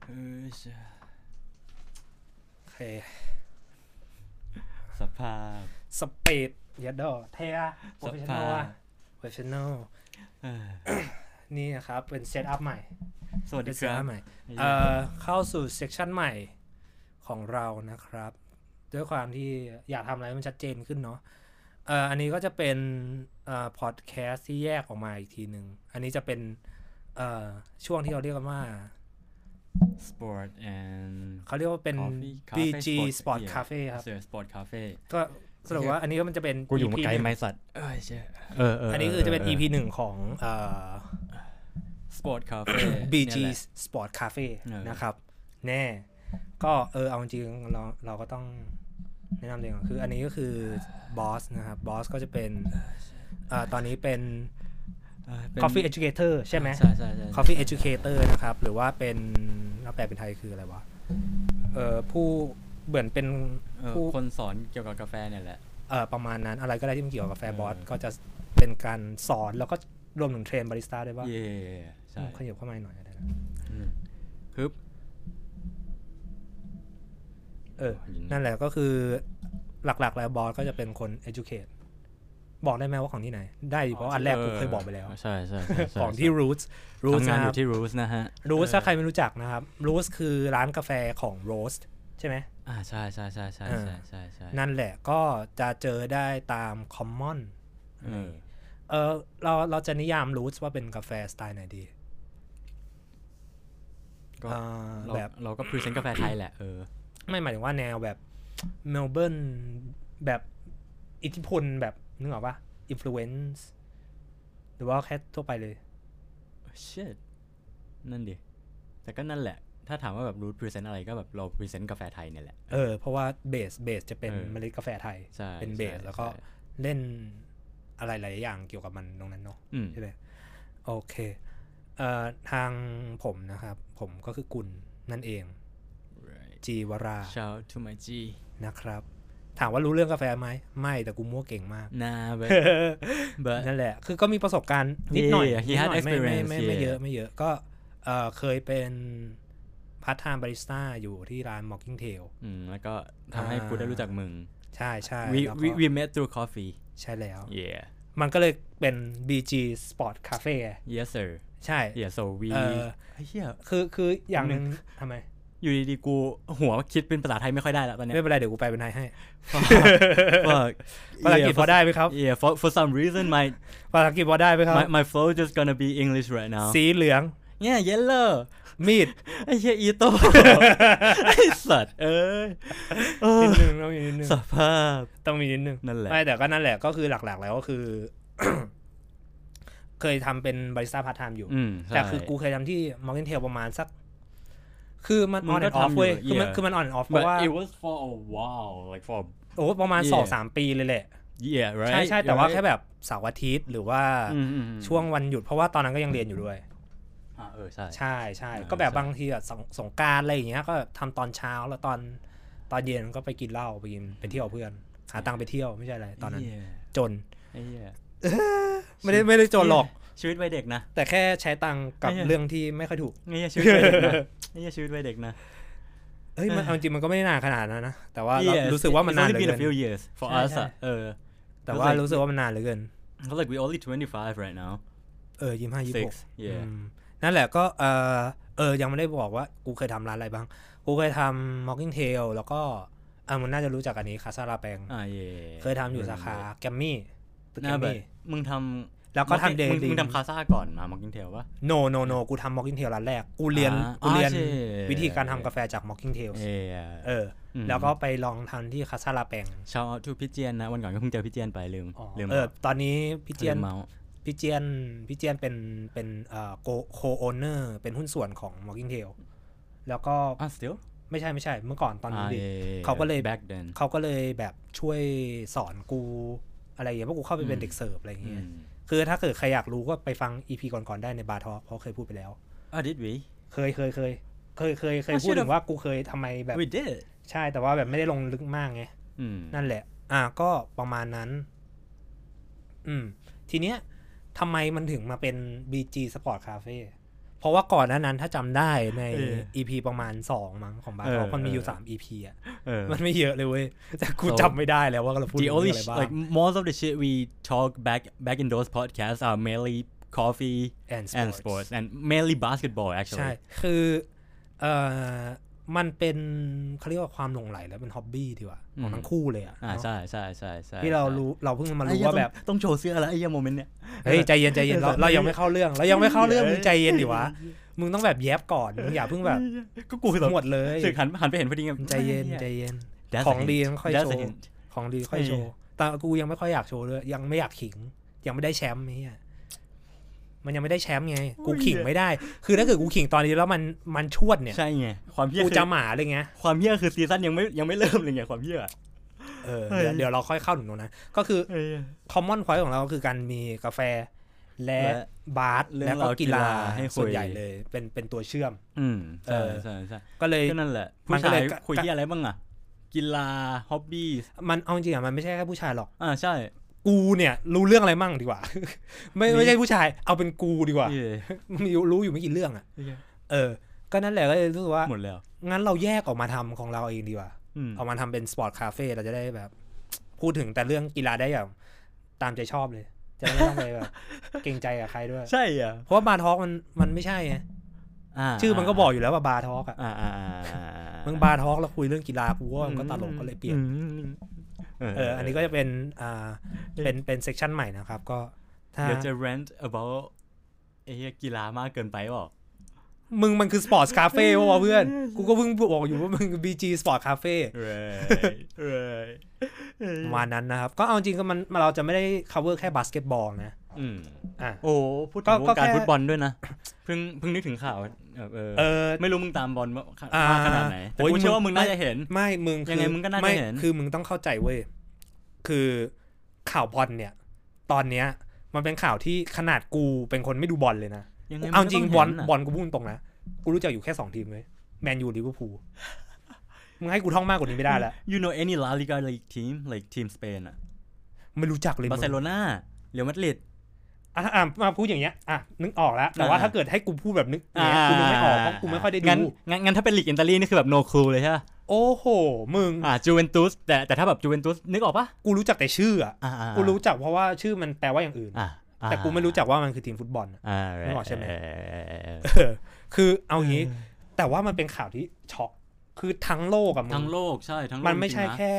โอเคสภาพสปีดยัดดอเทียโปรเฟชชั่นอลโปรเฟชชั่นอลนี่นะครับเป็นเซตอัพใหม่สวัสดีครับใหม่เข้าสู่เซสชันใหม่ของเรานะครับด้วยความที่อยากทำอะไรมันชัดเจนขึ้นเนาะอันนี้ก็จะเป็นพอดแคสต์ที่แยกออกมาอีกทีหนึ่งอันนี้จะเป็นช่วงที่เราเรียกกันว่า Sport and เขาเรียกว่าเป็น BG Sport Cafe ครับ Sport Cafe ก็สรุปว่าอันนี้ก็มันจะเป็นกูอยู่มาไกลไม้สัตว์ใช่อันนี้คือจะเป็น EP 1ของ Sport Cafe BG Sport Cafe นะครับแน่ก็เอาจริงเราก็ต้องแนะนำเองคืออันนี้ก็คือบอสนะครับบอสก็จะเป็นตอนนี้เป็น Coffee Educator ใช่ไหมใช่ Coffee Educator นะครับหรือว่าเป็นแปลเป็นไทยคืออะไรวะผู้เหมือนเป็นผู้คนสอนเกี่ยวกับกาแฟเนี่ยแหละประมาณนั้นอะไรก็ได้ที่มันเกี่ยวกับกาแฟบอสก็จะเป็นการสอนแล้วก็รวมถึงเทรนบาริสต้าด้วยป่ะใช่ขยับเข้ามาหน่อยได้นะฮึบนั่นแหละก็คือหลักๆแล้วบอสก็จะเป็นคน educate บอกได้ไหมว่าของที่ไหนได้เพราะอันแรกกูเคยบอกไปแล้วใช่ของที่ Roots ทำงานอยู่ที่ Roots นะฮะ Roots ถ้าใครไม่รู้จักนะครับ Roots คือร้านกาแฟของ Roast ใช่ไหมใช่นั่นแหละก็จะเจอได้ตาม Common เราจะนิยาม Roots ว่าเป็นกาแฟสไตล์ไหนดีก็แบบเราก็พรีเซนต์กาแฟไทยแหละไม่หมายถึงว่าแนวแบบเมลเบิร์นแบบอิทธิพลแบบนึกออกปะ influence หรือว่าแค่ทั่วไปเลย shit นั่นดิแต่ก็นั่นแหละถ้าถามว่าแบบรูทพรีเซนต์อะไรก็แบบเราพรีเซนต์กาแฟไทยเนี่ยแหละเพราะว่าเบสจะเป็นเมล็ดกาแฟไทยเป็นเบสแล้วก็เล่นอะไรหลายอย่างเกี่ยวกับมันตรงนั้นเนาะใช่ไหมโอเคทางผมนะครับผมก็คือกุลนั่นเองจีวรา Shout to my G นะครับถามว่ารู้เรื่องกาแฟไหมไม่แต่กูมั่วเก่งมากนั่นแหละคือก็มีประสบการณ์นิดหน่อยไม่เยอะก็เคยเป็นพาร์ทไทม์บาริสต้าอยู่ที่ร้าน Mocking Tail แล้วก็ทำให้กูได้รู้จักมึงใช่ we met through coffee ใช่แล้ว yeah มันก็เลยเป็น BG Sport Cafe yes sir ใช่ yeah so we คืออย่างนึงทำไมอยู่ดีๆกูหัวคิดเป็นภาษาไทยไม่ค่อยได้แล้วตอนนี้ไม่เป็นไรเดี๋ยวกูแปลเป็นไทยให้ภาษาอังกฤษพอได้ไหมครับ yeah for some reason ภาษาอังกฤษพอได้ไหมครับ my flow just gonna be English right now สีเหลือง yeah yellow มีดไอ้เหี้ยอีโต้ไอ้สัตว์นิดนึงต้องมีนิดนึงสภาพต้องมีนิดนึงนั่นแหละไม่แต่ก็นั่นแหละก็คือหลักๆแล้วก็คือ เคยทำเป็นบาริสต้าพาร์ทไทม์อยู่แต่คือกูเคยทำที่ Morgan Tail ประมาณสักคือมัน on and off เว้ยคือมัน on and off เพราะว่า it was for a while like for ประมาณ 2-3 ปีเลยแหละ yeah right ใช่แต่ว่าแค่แบบเสาร์อาทิตย์หรือว่าช่วงวันหยุดเพราะว่าตอนนั้นก็ยังเรียนอยู่ด้วยใช่ก็แบบบางทีอ่ะสงกรานต์อะไรอย่างเงี้ยก็ทำตอนเช้าแล้วตอนเย็นก็ไปกินเหล้าไปเที่ยวเพื่อนหาตังค์ไปเที่ยวไม่ใช่อะไรตอนนั้นจนไม่ได้จนหรอกชีวิตวัยเด็กนะแต่แค่ใช้ตังค์กับเรื่องที่ไม่ค่อยถูกนี่ชีวิตวัยเด็กนะนี่ชีวิตวัยเด็กนะมันจริงมันก็ไม่ได้นานขนาดนั้นนะแต่ว่ารู้สึกว่ามันนานเหลือเกิน few years for us แต่ว่ารู้สึกว่ามันนานเหลือเกิน like we only 25 right now 25-26นั่นแหละก็ยังไม่ได้บอกว่ากูเคยทำร้านอะไรบ้างกูเคยทำ Mocking Tail แล้วก็มันน่าจะรู้จักอันนี้คาซาลาแปงเคยทำอยู่สาขาแกมมี่ตึกแกมมี่มึงทำแล้วก็ทำเดลิมึงทำคาซาก่อนมา Mocking Tail ป่ะ no กูทำ Mocking Tail ร้านแรกกูเรียนวิธีการทำกาแฟจาก Mocking Tail แล้วก็ไปลองทำที่คาซาลาแปงชาวทูพี่เจียนนะวันก่อนก็เพิ่งเจอพี่เจียนไปลืมตอนนี้พี่เจียนเป็นโคโอเนอร์เป็นหุ้นส่วนของ Mocking Tail แล้วก็ still ไม่ใช่เมื่อก่อนตอนนี้เขาก็เลยแบบช่วยสอนกูอะไรอย่างเงี้ยเพราะกูเข้าไปเป็นเด็กเสิร์ฟอะไรอย่างเงี้ยคือถ้าเกิดใครอยากรู้ก็ไปฟัง EP ก่อนๆได้ในบาร์ทอล์คเพราะเคยพูดไปแล้ว did we เคยพูดถึงว่ากูเคยทำไมแบบ we did ใช่แต่ว่าแบบไม่ได้ลงลึกมากไงนั่นแหละก็ประมาณนั้นทีเนี้ยทำไมมันถึงมาเป็น BG Sport Cafe เเพราะว่าก่อนหน้านั้นถ้าจำได้ใน EP ประมาณ2มั้งของบาร์ทอล์กมันมีอยู่3 EP อ่ะมันไม่เยอะเลยเว้ยแต่กูจำไม่ได้แล้วว่าเราพูดอะไรบ้าง like most of the shit we talk back in those podcasts are mainly coffee and sports and mainly basketball actually ใช่คือมันเป็นเขาเรียกว่าความหลงใหลแล้วเป็นฮ็อบบี้ดีกว่าของทั้งคู่เลยอ่ะใช่ที่เราเพิ่งมารู้ว่าแบบต้องโชว์เสื้อแล้วไอ้โมเมนต์เนี้ยเฮ้ยใจเย็นเรายังไม่เข้าเรื่องมึงใจเย็นดิวะมึงต้องแบบแยบก่อนมึงอย่าเพิ่งแบบก็กูหมดเลยสึกหันไปเห็นพอดีใจเย็นของดีค่อยโชว์ของดีค่อยโชว์แต่กูยังไม่ค่อยอยากโชว์ด้วยยังไม่อยากขิงยังไม่ได้แชมป์นี่มันยังไม่ได้แชมป์ไงกูขิงไม่ได้คือถ้าเกิดกูขิงตอนนี้แล้วมันชวดเนี่ยใช่ไงความเหี้ยกูจะหมาเลยไงความเหี้ยคือซีซั่นยังไม่เริ่มเลยไงความเหี้ยเดี๋ยวเราค่อยเข้าถึงตรงนั้นก็คือคอมมอนพอยต์ของเราคือการมีกาแฟและบาสแล้วก็กีฬาส่วนใหญ่เลยเป็นตัวเชื่อมใช่ก็เลยนั่นแหละผู้ชายคุยที่อะไรบ้างอ่ะกีฬาฮ็อบบี้มันเอาจริงอ่ะมันไม่ใช่แค่ผู้ชายหรอกใช่กูเนี่ยรู้เรื่องอะไรมั่งดีกว่าไม่ใช่ผู้ชายเอาเป็นกูดีกว่ามีรู้อยู่ไม่กี่เรื่องอ่ะก็นั่นแหละก็เลยรู้สึกว่าหมดแล้วงั้นเราแยกออกมาทำของเราเองดีกว่าออกมาทำเป็นสปอร์ตคาเฟ่เราจะได้แบบพูดถึงแต่เรื่องกีฬาได้อย่างตามใจชอบเลยจะไม่ต้องไปแบบเกรงใจกับใครด้วยใช่อ่ะเพราะว่าบาร์ทอล์กมันไม่ใช่ไงชื่อมันก็บอกอยู่แล้วว่าบาร์ทอล์กมึงบาร์ทอล์กแล้วคุยเรื่องกีฬากูว่ามันก็ตลกก็เลยเปลี่ยนอันนี้ก็จะเป็นเป็นเซกชันใหม่นะครับก็เดี๋ยวจะ rant about ไอ้กีฬามากเกินไปหรอมึงมันคือสปอร์ตคาเฟ่ว่ะเพื่อนกูก็เพิ่งบอกอยู่ว่ามึง BG Sport Cafe วันนั้นนะครับก็เอาจริงก็มันเราจะไม่ได้ cover แค่บาสเกตบอลนะโอ้พูดถึงวงการฟุตบอลด้วยนะเพิ่งนึกถึงข่าวไม่รู้มึงตามบอลมากขนาดไหนแต่กูเชื่อว่ามึงน่าจะเห็นไม่มึงยังไงมึงก็น่าจะเห็นคือมึงต้องเข้าใจเว้ยคือข่าวบอลเนี่ยตอนเนี้ยมันเป็นข่าวที่ขนาดกูเป็นคนไม่ดูบอลเลยนะเอาจริงบอลกูพูดตรงนะกูรู้จักอยู่แค่2ทีมเลยแมนยูลิเวอร์พูลมึงให้กูท่องมากกว่านี้ไม่ได้แล้ว You know any La Liga like team like team Spain อ่ะไม่รู้จักเลยบาร์เซโลนาเรอัลมาดริดมาพูดอย่างเงี้ยนึกออกแล้วแต่ว่าถ้าเกิดให้กูพูดแบบนึกกูนึกไม่ออกเพราะกูไม่ค่อยได้ดูงั้นถ้าเป็นลีกอิตาลีนี่คือแบบ no clue เลยใช่ป่ะโอ้โหมึงจูเวนตุสแต่ถ้าแบบจูเวนตุสนึกออกป่ะกูรู้จักแต่ชื่อกูรู้จักเพราะว่าชื่อมันแปลว่าอย่างอื่นแต่กูไม่รู้จักว่ามันคือทีมฟุตบอลไม่บอกใช่ไหมคือเอางี้แต่ว่ามันเป็นข่าวที่ช็อกคือทั้งโลกอะมึงทั้งโลกใช่ทั้งโลกมันไม่ใช่แค่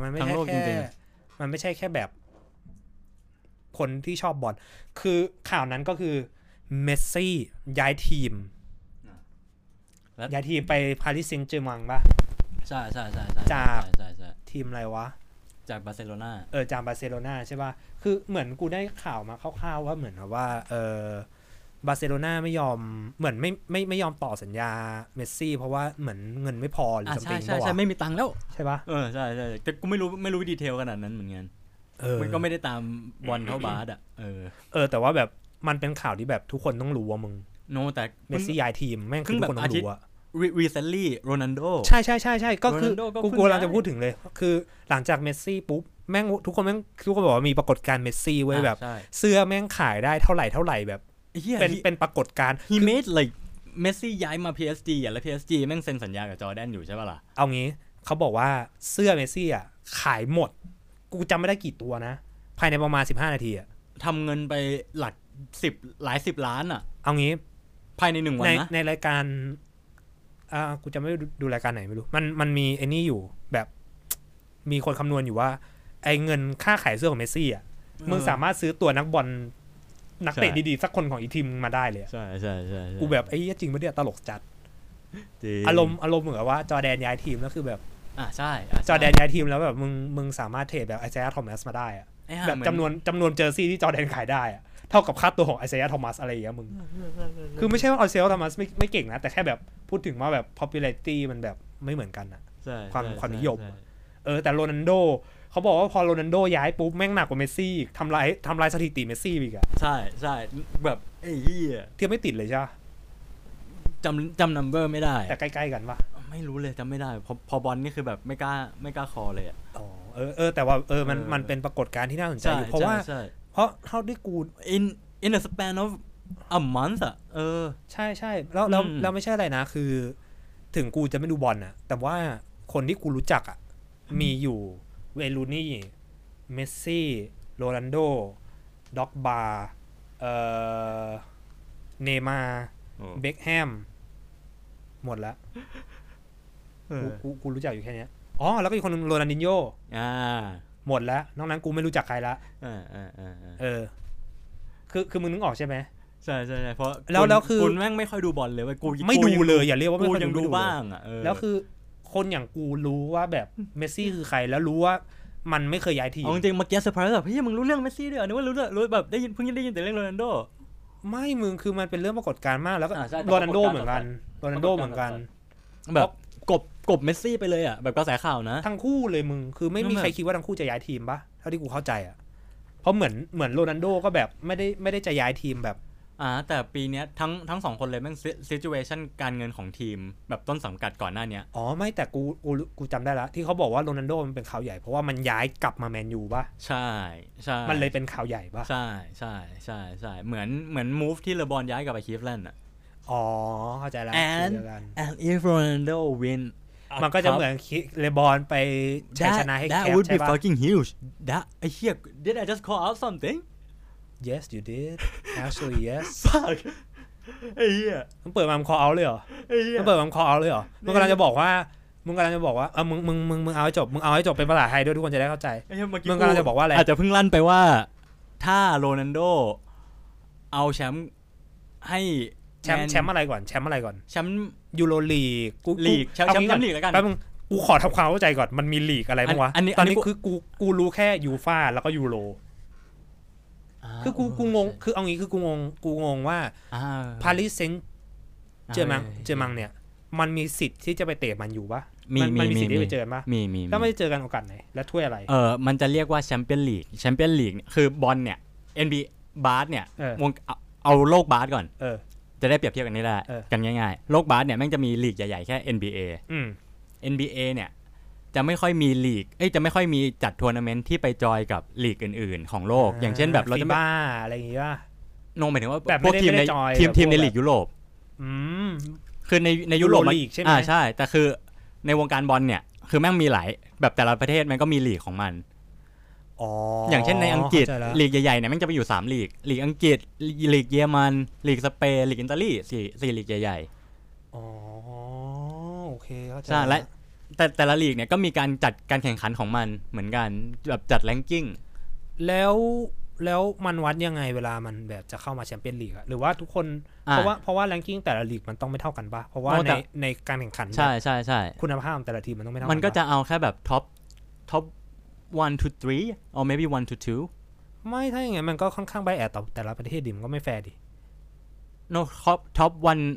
แบบคนที่ชอบบอลคือข่าวนั้นก็คือเมสซี่ย้ายทีมไปปารีสแซงต์แชร์แมงป่ะใช่จากทีมอะไรวะจากบาร์เซโลนาจากบาร์เซโลนาใช่ป่ะคือเหมือนกูได้ข่าวมาคร่าวๆว่าเหมือนว่าบาร์เซโลนาไม่ยอมเหมือนไม่ยอมต่อสัญญาเมสซี่เพราะว่าเหมือนเงินไม่พอหรือสัมติงใช่ไม่มีตังค์แล้วใช่ป่ะใช่แต่กูไม่รู้ดีเทลขนาดนั้นเหมือนกันมันก็ไม่ได้ตามบอลเท่าบาสแต่ว่าแบบมันเป็นข่าวที่แบบทุกคนต้องรู้ว่ามึงแต่เมสซี่ย้ายทีมแม่งคือทุกคนต้องรู้อะ recently Ronaldo ใช่ก็คือกูกำลังจะพูดถึงเลยคือหลังจากเมสซี่ปุ๊บแม่งทุกคนบอกว่ามีปรากฏการณ์เมสซี่เว้ยแบบเสื้อแม่งขายได้เท่าไหร่แบบเป็นปรากฏการณ์ he made like เมสซี่ย้ายมา PSG แล้ว PSG แม่งเซ็นสัญญากับจอร์แดนอยู่ใช่ป่ะล่ะเอางี้เขาบอกว่าเสื้อเมสซี่อะขายหมดกูจำไม่ได้กี่ตัวนะภายในประมาณ15นาทีอะทำเงินไปหลักหลาย10ล้านอะเอางี้ภายใน1วันนะในรายการกูจะไม่ดูรายการไหนไม่รู้มันมีไอ้นี่อยู่แบบมีคนคำนวณอยู่ว่าไอ้เงินค่าขายเสื้อของเมสซี่อ่ะมึงสามารถซื้อตัวนักบอลนักเตะดีๆสักคนของอีทีมมาได้เลยใช่กูแบบไอ้จริงปะเนี่ยตลกจัดอารมณ์เหมือนว่าจอร์แดนย้ายทีมแล้วคือแบบใช่จอร์แดนย้ายทีมแล้วแบบมึงสามารถเทรดแบบไอเซย่าทอมัสมาได้อะแบบจำนวนเจอร์ซี่ที่จอร์แดนขายได้อะเท่ากับค่าตัวของไอเซย่าทอมัสอะไรอย่างเงี้ยมึงคือไม่ใช่ว่าไอเซย่าทอมัสไม่เก่งนะแต่แค่แบบพูดถึงว่าแบบ popularity มันแบบไม่เหมือนกันอะความนิยมแต่โรนัลโดเขาบอกว่าพอโรนัลโดย้ายปุ๊บแม่งหนักกว่าเมสซี่ทำลายสถิติเมสซี่อีกอะใช่แบบไอ้เหี้ยเทียบไม่ติดเลยใช่ป่ะจำนัมเบอร์ไม่ได้แต่ใกล้ๆกันป่ะไม่รู้เลยจำไม่ได้พอบอลนี่คือแบบไม่กล้าคอเลยอะแต่ว่ามันเป็นปรากฏการณ์ที่น่าสนใจอยู่เพราะเท่าที่กู in a span of a month อ่ะใช่ๆแล้วไม่ใช่อะไรนะคือถึงกูจะไม่ดูบอลน่ะแต่ว่าคนที่กูรู้จักอ่ะมีอยู่เวย์รูนี่เมสซี่โรนัลโดด็อกบาร์เนย์มาร์เบ็คแฮมหมดแล้วกูรู้จักอยู่แค่นี้อ๋อแล้วก็อีกคนนึงโรนัลดินโญ่หมดแล้วนอกนั้นกูไม่รู้จักใครละคือมึงนึกออกใช่ไหมใช่เพราะแล้วคือคุณแม่งไม่ค่อยดูบอลเลยเว้ยกูไม่ดูเลยอย่าเรียกว่าไม่ค่อยดูบ้างอ่ะแล้วคือคนอย่างกูรู้ว่าแบบเมสซี่คือใครแล้วรู้ว่ามันไม่เคยย้ายทีมจริงๆเมื่อกี้เซอร์ไพรส์แบบเฮ้ยมึงรู้เรื่องเมสซี่ด้วยนึกว่ารู้แบบได้ยินเพิ่งได้ยินแต่เรื่องโรนัลโดไม่มึงคือมันเป็นเรื่องปรากฏการณ์มากแล้วก็โรนัลโดเหมือนกันแบบกบเมสซี่ไปเลยอ่ะแบบกระแสข่าวนะทั้งคู่เลยมึงคือไม่มีใครคิดว่าทั้งคู่จะย้ายทีมปะเท่าที่กูเข้าใจอ่ะเพราะเหมือนโรนัลโดก็แบบไม่ได้จะย้ายทีมแบบแต่ปีนี้ทั้งสองคนเลยแม่งซิจูเอชั่นการเงินของทีมแบบต้นสังกัดก่อนหน้านี้ไม่แต่กูจำได้แล้วที่เขาบอกว่าโรนัลโดมันเป็นข่าวใหญ่เพราะว่ามันย้ายกลับมาแมนยูป่ะใช่มันเลยเป็นข่าวใหญ่ป่ะใช่เหมือนมูฟที่เลบอนย้ายกลับไปคลีฟแลนด์อ่ะเข้าใจแล้ว and if Ronaldo win มันก็จะเหมือนเลบอนไปชัยชนะให้แคปใช่ป่ะ That would be fucking huge that did I just call out something Yes you did actually yes fuck ไอ้เหี้ยมึงเปิดมาcall outเลยเหรอมึงเปิดมาcall outเลยเหรอมึงกำลังจะบอกว่ามึงเอาให้จบมึงเอาให้จบเป็นภาษาไทยด้วยทุกคนจะได้เข้าใจมึงกำลังจะบอกว่าอะไรอาจจะเพิ่งลั่นไปว่าถ้าโรนัลโดเอาแชมป์ให้แชมป์อะไรก่อนแชมป์ยูโรลีกลีกแชมป์ลีกแล้วกันแป๊บนึงกูขอทำความเข้าใจก่อนมันมีลีกอะไรบ้างวะตอนนี้คือกูรู้แค่ยูฟ่าแล้วก็ยูโรคือกูงงคือเอางี้คือกูงงว่าปารีสเซนต์เจอมังเนี่ยมันมีสิทธิ์ที่จะไปเตะมันอยู่ปะมันมีสิทธิ์ที่ไปเจอปะมีถ้าไม่เจอกันโอกาสไหนและถ้วยอะไรมันจะเรียกว่าแชมเปี้ยนลีกเนี่ยคือบอลเนี่ย NBA บาสเนี่ยวงเอาโลกบาสก่อนจะได้เปรียบเทียบกันนี่แหละกันง่ายๆโลกบาสเนี่ยแม่งจะมีลีกใหญ่ๆแค่ NBA เนี่ยจะไม่ค่อยมีลีกจะไม่ค่อยมีจัดทัวร์นาเมนต์ที่ไปจอยกับลีกอื่นๆของโลกอย่างเช่นแบบเราจะบ้าอะไรอย่างงี้ป่ะหมายถึงว่าพวกทีมในลีกยุโรปคือในยุโรปใช่ไหมใช่แต่คือในวงการบอลเนี่ยคือแม่งมีหลายแบบแต่ละประเทศมันก็มีลีกของมันอย่างเช่นในอังกฤษลีกใหญ่ๆเนี่ยแม่งจะไปอยู่3ลีกอังกฤษลีกเยอรมันลีกสเปนลีกอิตาลี4ลีกใหญ่ๆโอเคเข้าใจและแต่ละลีกเนี่ยก็มีการจัดการแข่งขันของมันเหมือนกันแบบจัดแรงกิ้งแล้วมันวัดยังไงเวลามันแบบจะเข้ามาแชมเปี้ยนลีกหรือว่าทุกคนเพราะว่าแรงกิ้งแต่ละลีกมันต้องไม่เท่ากันป่ะเพราะว่าในการแข่งขันใช่คุณภาพแต่ละทีมมันต้องไม่เท่ากันมันก็จะเอาแค่แบบท็อป1 to 3 or maybe 1 to 2 ไม่ถ้าอย่างงั้นมันก็ค่อนข้างไบแอสต่อแต่ละประเทศดิมันก็ไม่แฟร์ดิ no top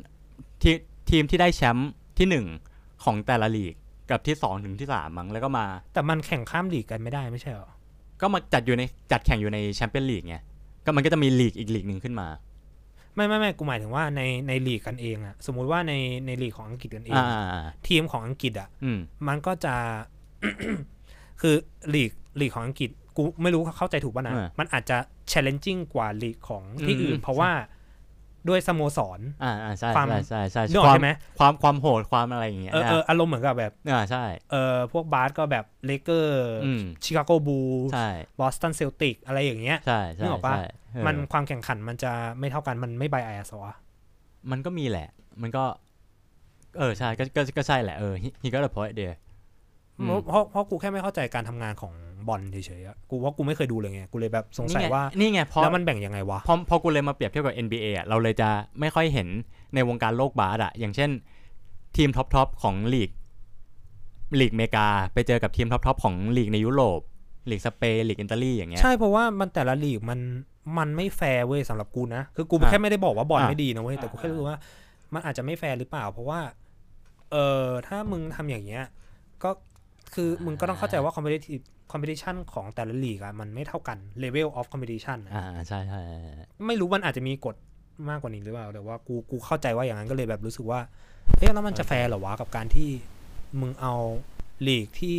1ทีมที่ได้แชมป์ที่1ของแต่ละลีกกับที่2ถึงที่3มั้งแล้วก็มาแต่มันแข่งข้ามลีกกันไม่ได้ไม่ใช่หรอก็มาจัดแข่งอยู่ในแชมเปี้ยนลีกไงก็มันก็จะมีลีกอีกลีกนึงขึ้นมาไม่กูหมายถึงว่าในลีกกันเองอะสมมุติว่าในลีกของอังกฤษกันเองทีมของอังกฤษอะมันก็จะ คือลีกของอังกฤษกูไม่รู้เข้าใจถูกป่ะนะมันอาจจะ challenging กว่าลีกของที่อื่นเพราะว่าด้วยสโมสรใช่ความโหดความอะไรอย่างเงี้ยอารมณ์เหมือนกับแบบใช่พวกบาสก็แบบเลเกอร์ชิคาโกบูลส์บอสตันเซลติกอะไรอย่างเงี้ยนึกออกป่ะมันความแข่งขันมันจะไม่เท่ากันมันไม่ไบแอสวะมันก็มีแหละมันก็ใช่ก็ใช่แหละhe got a point there เพราะกูแค่ไม่เข้าใจการทำงานของบอลเฉยๆกูว่ากูไม่เคยดูเลยไงกูเลยแบบสงสัยว่านี่ไงแล้วมันแบ่งยังไงวะพอกูเลยมาเปรียบเทียบกับ NBA อ่ะเราเลยจะไม่ค่อยเห็นในวงการโลกบาสอ่ะอย่างเช่นทีมท็อปของลีกอเมริกาไปเจอกับทีมท็อปของลีกในยุโรปลีกสเปนลีกอิตาลีอย่างเงี้ยใช่เพราะว่ามันแต่ละลีกมันไม่แฟร์เว้ยสำหรับกูนะคือกูแค่ไม่ได้บอกว่าบอลไม่ดีนะเว้ยแต่กูแค่รู้ว่ามันอาจจะไม่แฟร์หรือเปล่าเพราะว่าถ้ามึงทำอย่างเงี้ยก็คือมึงก็ต้องเข้าใจว่าcompetition ของแต่ละลีกอะมันไม่เท่ากัน level of competition ใช่ไม่รู้มันอาจจะมีกฎมากกว่านี้หรือเปล่าแต่ว่ากูเข้าใจว่าอย่างนั้นก็เลยแบบรู้สึกว่าแล้วมันจะแฟร์เหรอวะกับการที่มึงเอาลีกที่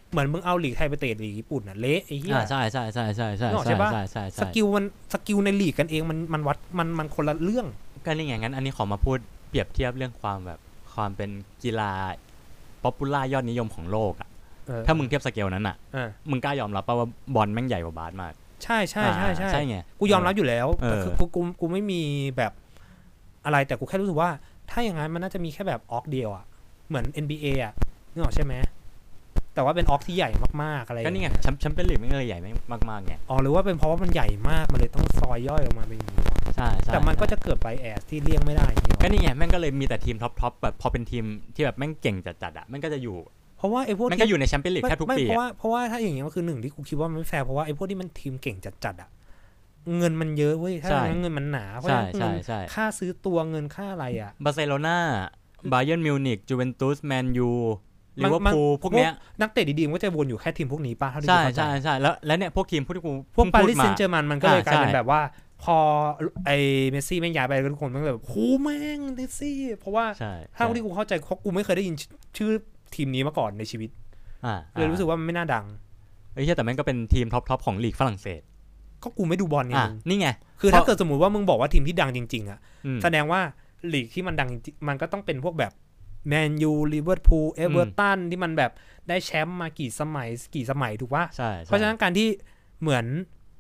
เหมือนมึงเอาลีกไทยไปเตะลีกญี่ปุ่นน่ะเละไอ้เหี้ยใช่ใช่ใช่ใช่ใช่ใช่ป่ะสกิลในลีกกันเองมันวัดมันคนละเรื่องก็นี่ไงงั้นอันนี้ขอมาพูดเปรียบเทียบเรื่องความแบบความเป็นกีฬาป๊อปปูล่ายอดนิยมของโลกอ่ะถ้ามึงเทียบสเกลนั้นอ่ะมึงกล้ายอมรับป่ะว่าบอลแม่งใหญ่กว่าบาสมากใช่ใช่ใช่ใช่ไงกูยอมรับอยู่แล้วแต่คือกูไม่มีแบบอะไรแต่กูแค่รู้สึกว่าถ้าอย่างนั้นมันน่าจะมีแค่แบบออกเดียวอ่ะเหมือน NBA อ่ะนึกออกใช่ไหมแต่ว่าเป็นออกที่ใหญ่มากๆอะไรก็นี่ไงแชมเปี้ยนลีกไม่เลยใหญ่มากๆไงอ๋อหรือว่าเป็นเพราะว่ามันใหญ่มากมันเลยต้องซอยย่อยออกมาเป็นอย่างนี้ใช่แต่มันก็จะเกิดไบแอสที่เลี่ยงไม่ได้ก็นี่ไงแม่งก็เลยมีแต่ทีมท็อปแบบพอเป็นทีมที่แบบแม่งเก่งจัดๆอ่ะแม่งก็จะอยู่เพราะว่าไอ้พวกมันก็อยู่ในแชมเปี้ยนลีกแค่ทุกปีเพราะว่าถ้าอย่างเงี้ยก็คือหนึ่งที่กูคิดว่ามันไม่แฟร์เพราะว่าไอ้พวกที่มันทีมเก่งจัดๆอ่ะเงินมันเยอะเว้ยถ้าเงินมันหนาเพราะฉะนั้นค่าซื้อตัวเงินค่าอะไรอ่ะบาร์เซโลนาบาเยิร์นมิวนิกจูเวนตุสแมนยูลิเวอร์พูลพวกเนี้ยนักเตะดีๆมันก็จะวนอยู่แค่ทีมพวกนี้ป่ะเท่าที่กูเข้าใจใช่แล้วเนี่ยพวกทีมพวกที่กูพวกปารีสเซงต์เจอร์แมงมันก็เลยกลายเป็นแบบว่าพอไอ้เมสซี่แม่งย้ายไปทุกคนมันแบบโหแม่งเมสซี่เพราะว่าถ้าที่กูเข้าใจเพราะกูไม่เคยได้ยินชื่อทีมนี้มาก่อนในชีวิตเลยรู้สึกว่ามันไม่น่าดังแต่แม่งก็เป็นทีมท็อปของลีกฝรั่งเศสก็กูไม่ดูบอลนี่ไงคือถ้าเกิดสมมติว่ามึงบอกว่าทีมที่ดังจริงๆอ่ะแสดงว่าลีกที่มันดังมันก็ต้องเป็นพวกแบบแมนยูลิเวอร์พูลเอเวอร์ตันที่มันแบบได้แชมป์มากี่สมัยถูกป่ะเพราะฉะนั้นการที่เหมือน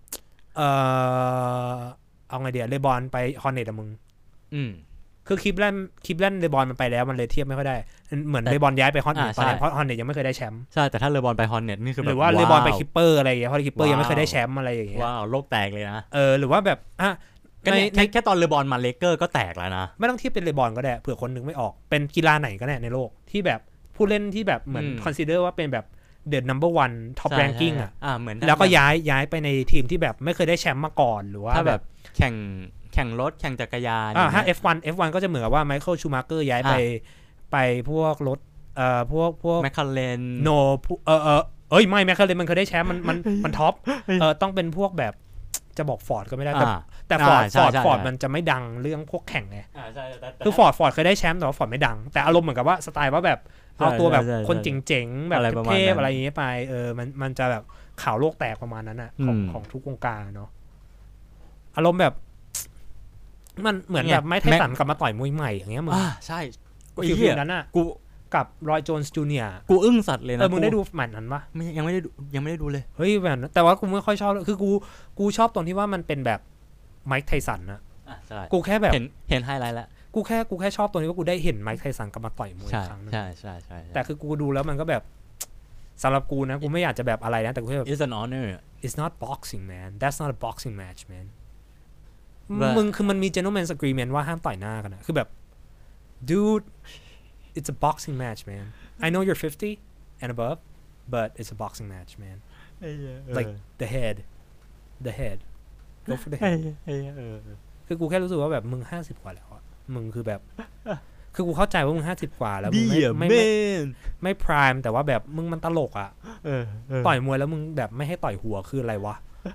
เอาไงเดียวเลบอนไปฮอนเน็ตอะมึงคือคลิปแรกเลบอนมันไปแล้วมันเลยเทียบไม่ค่อยได้เหมือนเลบอนย้ายไปฮอนเน็ตตอนนี้เพราะฮอนเน็ตยังไม่เคยได้แชมป์ใช่แต่ถ้าเลบอนไปฮอนเน็ตนี่คือแบบหรือว่าเลบอนไปคิปเปอร์อะไรอย่างเงี้ยเพราะคิปเปอร์ยังไม่เคยได้แชมป์อะไรอย่างเงี้ยว้าวโลกแตกเลยนะหรือว่าแบบแค่ตอนเลบอนมาเลเกอร์ก็แตกแล้วนะไม่ต้องเทียบเป็นเลบอนก็ได้เผื่อคนนึงไม่ออกเป็นกีฬาไหนก็ได้ในโลกที่แบบผู้เล่นที่แบบเหมือนคอนซิเดอร์ว่าเป็นแบบเดอะนัมเบอร์วันท็อปแรงกิ้งอ่ะเหมือนแล้วก็ย้ายไปในทีมที่แบบไม่เคยได้แชมป์มาก่อนหรือว่าถ้าแบบแข่งรถแข่งจักรยานถ้า F1 ก็จะเหมือนกับว่าไมเคิลชูมาร์เกอร์ย้ายไปพวกรถพวกแมคคาเรนโนไม่แมคคาเรนมันเคยได้แชมป์มันท็อปต้องเป็นพวกแบบจะบอกฟอร์ดก็ไม่ได้แต่ฟอร์ดมันจะไม่ดังเรื่องพวกแข่งไงคือฟอร์ดเคยได้แชมป์แต่ว่าฟอร์ดไม่ดังแต่อารมณ์เหมือนกับว่าสไตล์ว่าแบบเอาตัวแบบคนเจ๋งๆแบบเทพอะไรอย่างเงี้ยไปมันจะแบบข่าวโลกแตกประมาณนั้นอ่ะของทุกวงการเนาะอารมณ์แบบมันเหมือนแบบไม่ไทสันกลับมาต่อยมวยใหม่อย่างเงี้ยมึงใช่คือฟิลนั้นอ่ะกูกับรอยโจนส์จูเนียร์กูอึ้งสัตว์เลยนะมึงได้ดูแมตช์นั้นปะยังไม่ได้ดูเลยเฮ้ยแบบแต่ว่ากูไม่ค่อยชอบคือกูชอบตรงที่ว่ามันเป็นแบบไมค์ไทสันนะกูแค่แบบเห็นไฮไลท์แล้วกูแค่ชอบตรงนี้ว่ากูได้เห็นไมค์ไทสันกลับมาต่อยมวยครั้งนึงใช่แต่คือกูดูแล้วมันก็แบบสำหรับกูนะกูไม่อยากจะแบบอะไรนะแต่กูแค่แบบ It's an honor It's not boxing man That's not a boxing match man มึงคือมันมี gentleman's agreement ว่าห้ามต่อยหน้ากันนะคือแบบ dude it's a boxing match man I know you're 50 and above but it's a boxing match man like the head go for the head คือกูแค่รู้สึกว่าแบบมึง50กว่าแล้วมึงคือแบบคือกูเข้าใจว่ามึง50กว่าแล้วมึงไม่พรายแต่ว่าแบบมึงมันตลกอ่ะต่อยมวยแล้วมึงแบบไม่ให้ต่อยหัวคืออะไรวะ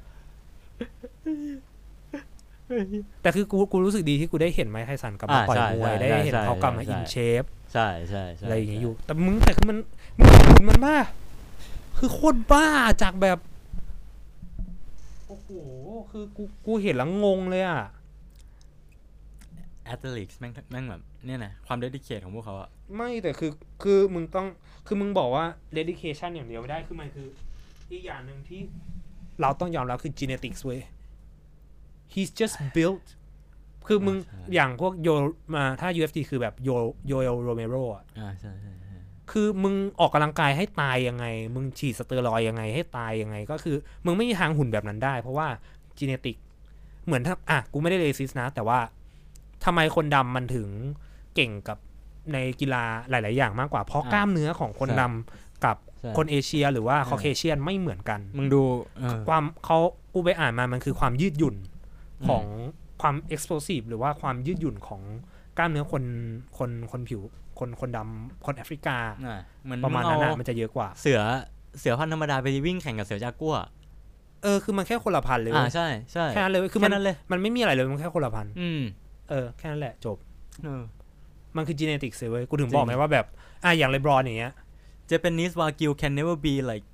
แต่คือกูรู้สึกดีที่กูได้เห็นไมค์ไทสันกลับมาต่อยมวยได้เห็นเขากลับมาอินเชฟใช่อะไรอย่างเงี้ยอยู่แต่คือมึงเห็นมันบ้าคือโคตรบ้าจากแบบโอ้โหคือกูเห็นแล้วงงเลยอ่ะแอตเลติกส์แม่งแบบเนี่ยนะความเดดิเคทของพวกเขาอะไม่แต่คือมึงต้องคือมึงบอกว่าเดดิเคชันอย่างเดียวไม่ได้คือมันคืออีกอย่างนึงที่เราต้องยอมรับคือ genetics เว้ย he's just built คือมึงอย่างพวกโยมาถ้า UFC คือแบบโยเอลโรเมโรอ่ะใช่คือมึงออกกำลังกายให้ตายยังไงมึงฉีดสเตียรอยด์ยังไงให้ตายยังไงก็คือมึงไม่มีทางหุ่นแบบนั้นได้เพราะว่า genetic เหมือนถ้ากูไม่ได้เรซิสนะแต่ว่าทำไมคนดำมันถึงเก่งกับในกีฬาหลายๆอย่างมากกว่าเพราะกล้ามเนื้อของคนดำกับคนเอเชียหรือว่าคอเคเชียนไม่เหมือนกันมึงดูความกูไปอ่านมามันคือความยืดหยุ่นของความ explosive หรือว่าความยืดหยุ่นของกล้ามเนื้อคนผิวคนดำคนแอฟริกาประมาณนั้นมันจะเยอะกว่าเสือพันธุ์ธรรมดาไปวิ่งแข่งกับเสือจากัวคือมันแค่คนละพันเลยใช่แค่นั้นเลยคือมันไม่มีอะไรเลยมันแค่คนละพันแค่นั้นแหละจบมันคือ genetics เลยเว้ยกูถึงบอกไงว่าแบบอย่างเลบรอนอย่างเงี้ย Japanese Wagyu can never be like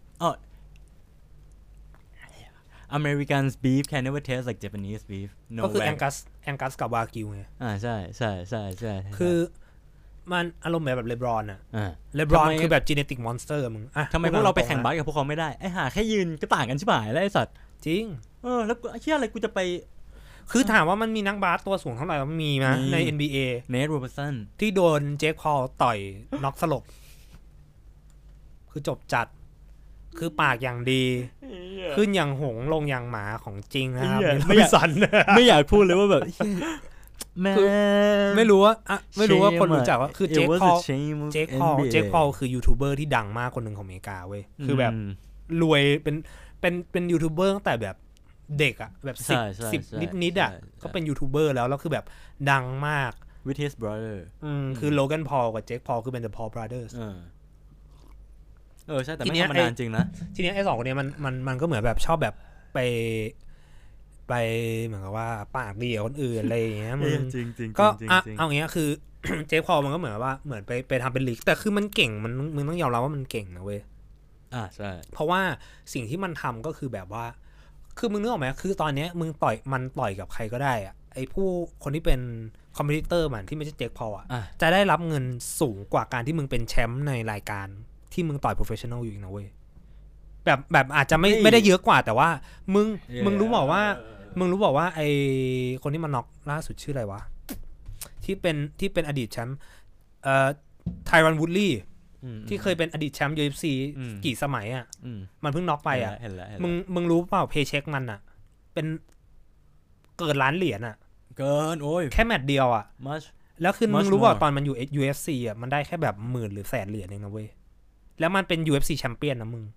American's beef can never taste like Japanese beef ก็คือแองกัสกับวากิวไงใช่คือมันอารมณ์แบบเลบรอนอะเลบรอนคือแบบ genetic monster มึงทำไมพวกเราไปแข่งบาสกับพวกเขาไม่ได้ไอ้ห่าแค่ยืนก็ต่างกันใช่ไหมแล้วไอ้สัตว์จริงแล้วไอ้เหี้ยอะไรกูจะไปคือถามว่ามันมีนักบาสตัวสูงเท่าไหร่มันมีนะใน NBA เนทโรเบอร์สันที่โดนเจคพอลต่อยน็อกสลบคือจบจัดคือปากอย่างดีขึ้นอย่างหงลงอย่างหมาของจริงนะครับไม่อยากพูดเลยว่าแบบไม่รู้ว่าคนรู้จักว่าคือเจคพอลคือยูทูบเบอร์ที่ดังมากคนหนึ่งของอเมริกาเว้ยคือแบบรวยเป็นยูทูบเบอร์ตั้งแต่แบบเด็กอะแบบ10นิดๆอะก็เป็นยูทูบเบอร์แล้วคือแบบดังมาก with his brother คือโลแกนพอลกับเจคพอลคือเป็น The Paul Brothers ใช่แต่ไม่ธรรมดาจริงนะทีนี้ไอ้สองคนนี้มันก็เหมือนแบบชอบแบบไปเหมือนกับว่าปากดีกับคนอื่นอะไรอย่างเงี้ยมึงก็เอาอย่างเงี้ยคือเจคพอลมันก็เหมือนว่าเหมือนไปทำเป็นลีกแต่คือมันเก่งมึงต้องยอมรับว่ามันเก่งนะเว้ยใช่เพราะว่าสิ่งที่มันทำก็คือแบบว่าคือมึงนึกออกไหมคือตอนนี้มึงต่อยกับใครก็ได้อะไอ้คนที่เป็นคอมเพทิเตอร์มันที่ไม่ใช่เจคพอลจะได้รับเงินสูงกว่าการที่มึงเป็นแชมป์ในรายการที่มึงต่อยโปรเฟชชั่นอลอยู่อีกนะเว้ยแบบอาจจะไม่ได้เยอะกว่าแต่ว่ามึงรู้บอกว่าไอคนที่มันน็อกล่าสุดชื่ออะไรวะที่เป็นอดีตแชมป์ไทรอนวูดลี่ที่เคยเป็นอดีตแชมป์ UFC กี่สมัยอ่ะมันเพิ่งน็อกไปอ่ะมึงรู้เปล่าเพย์เช็คมันอ่ะเป็นเกินล้านเหรียญอ่ะเกินโอ้ยแค่แมตช์เดียวอ่ะแล้วคือมึงรู้เปล่าตอนมันอยู่ UFC อ่ะมันได้แค่แบบ10,000 หรือ100,000 เหรียญเองนะเว้ยแล้วมันเป็น UFC แชมเปี้ยนนะมึง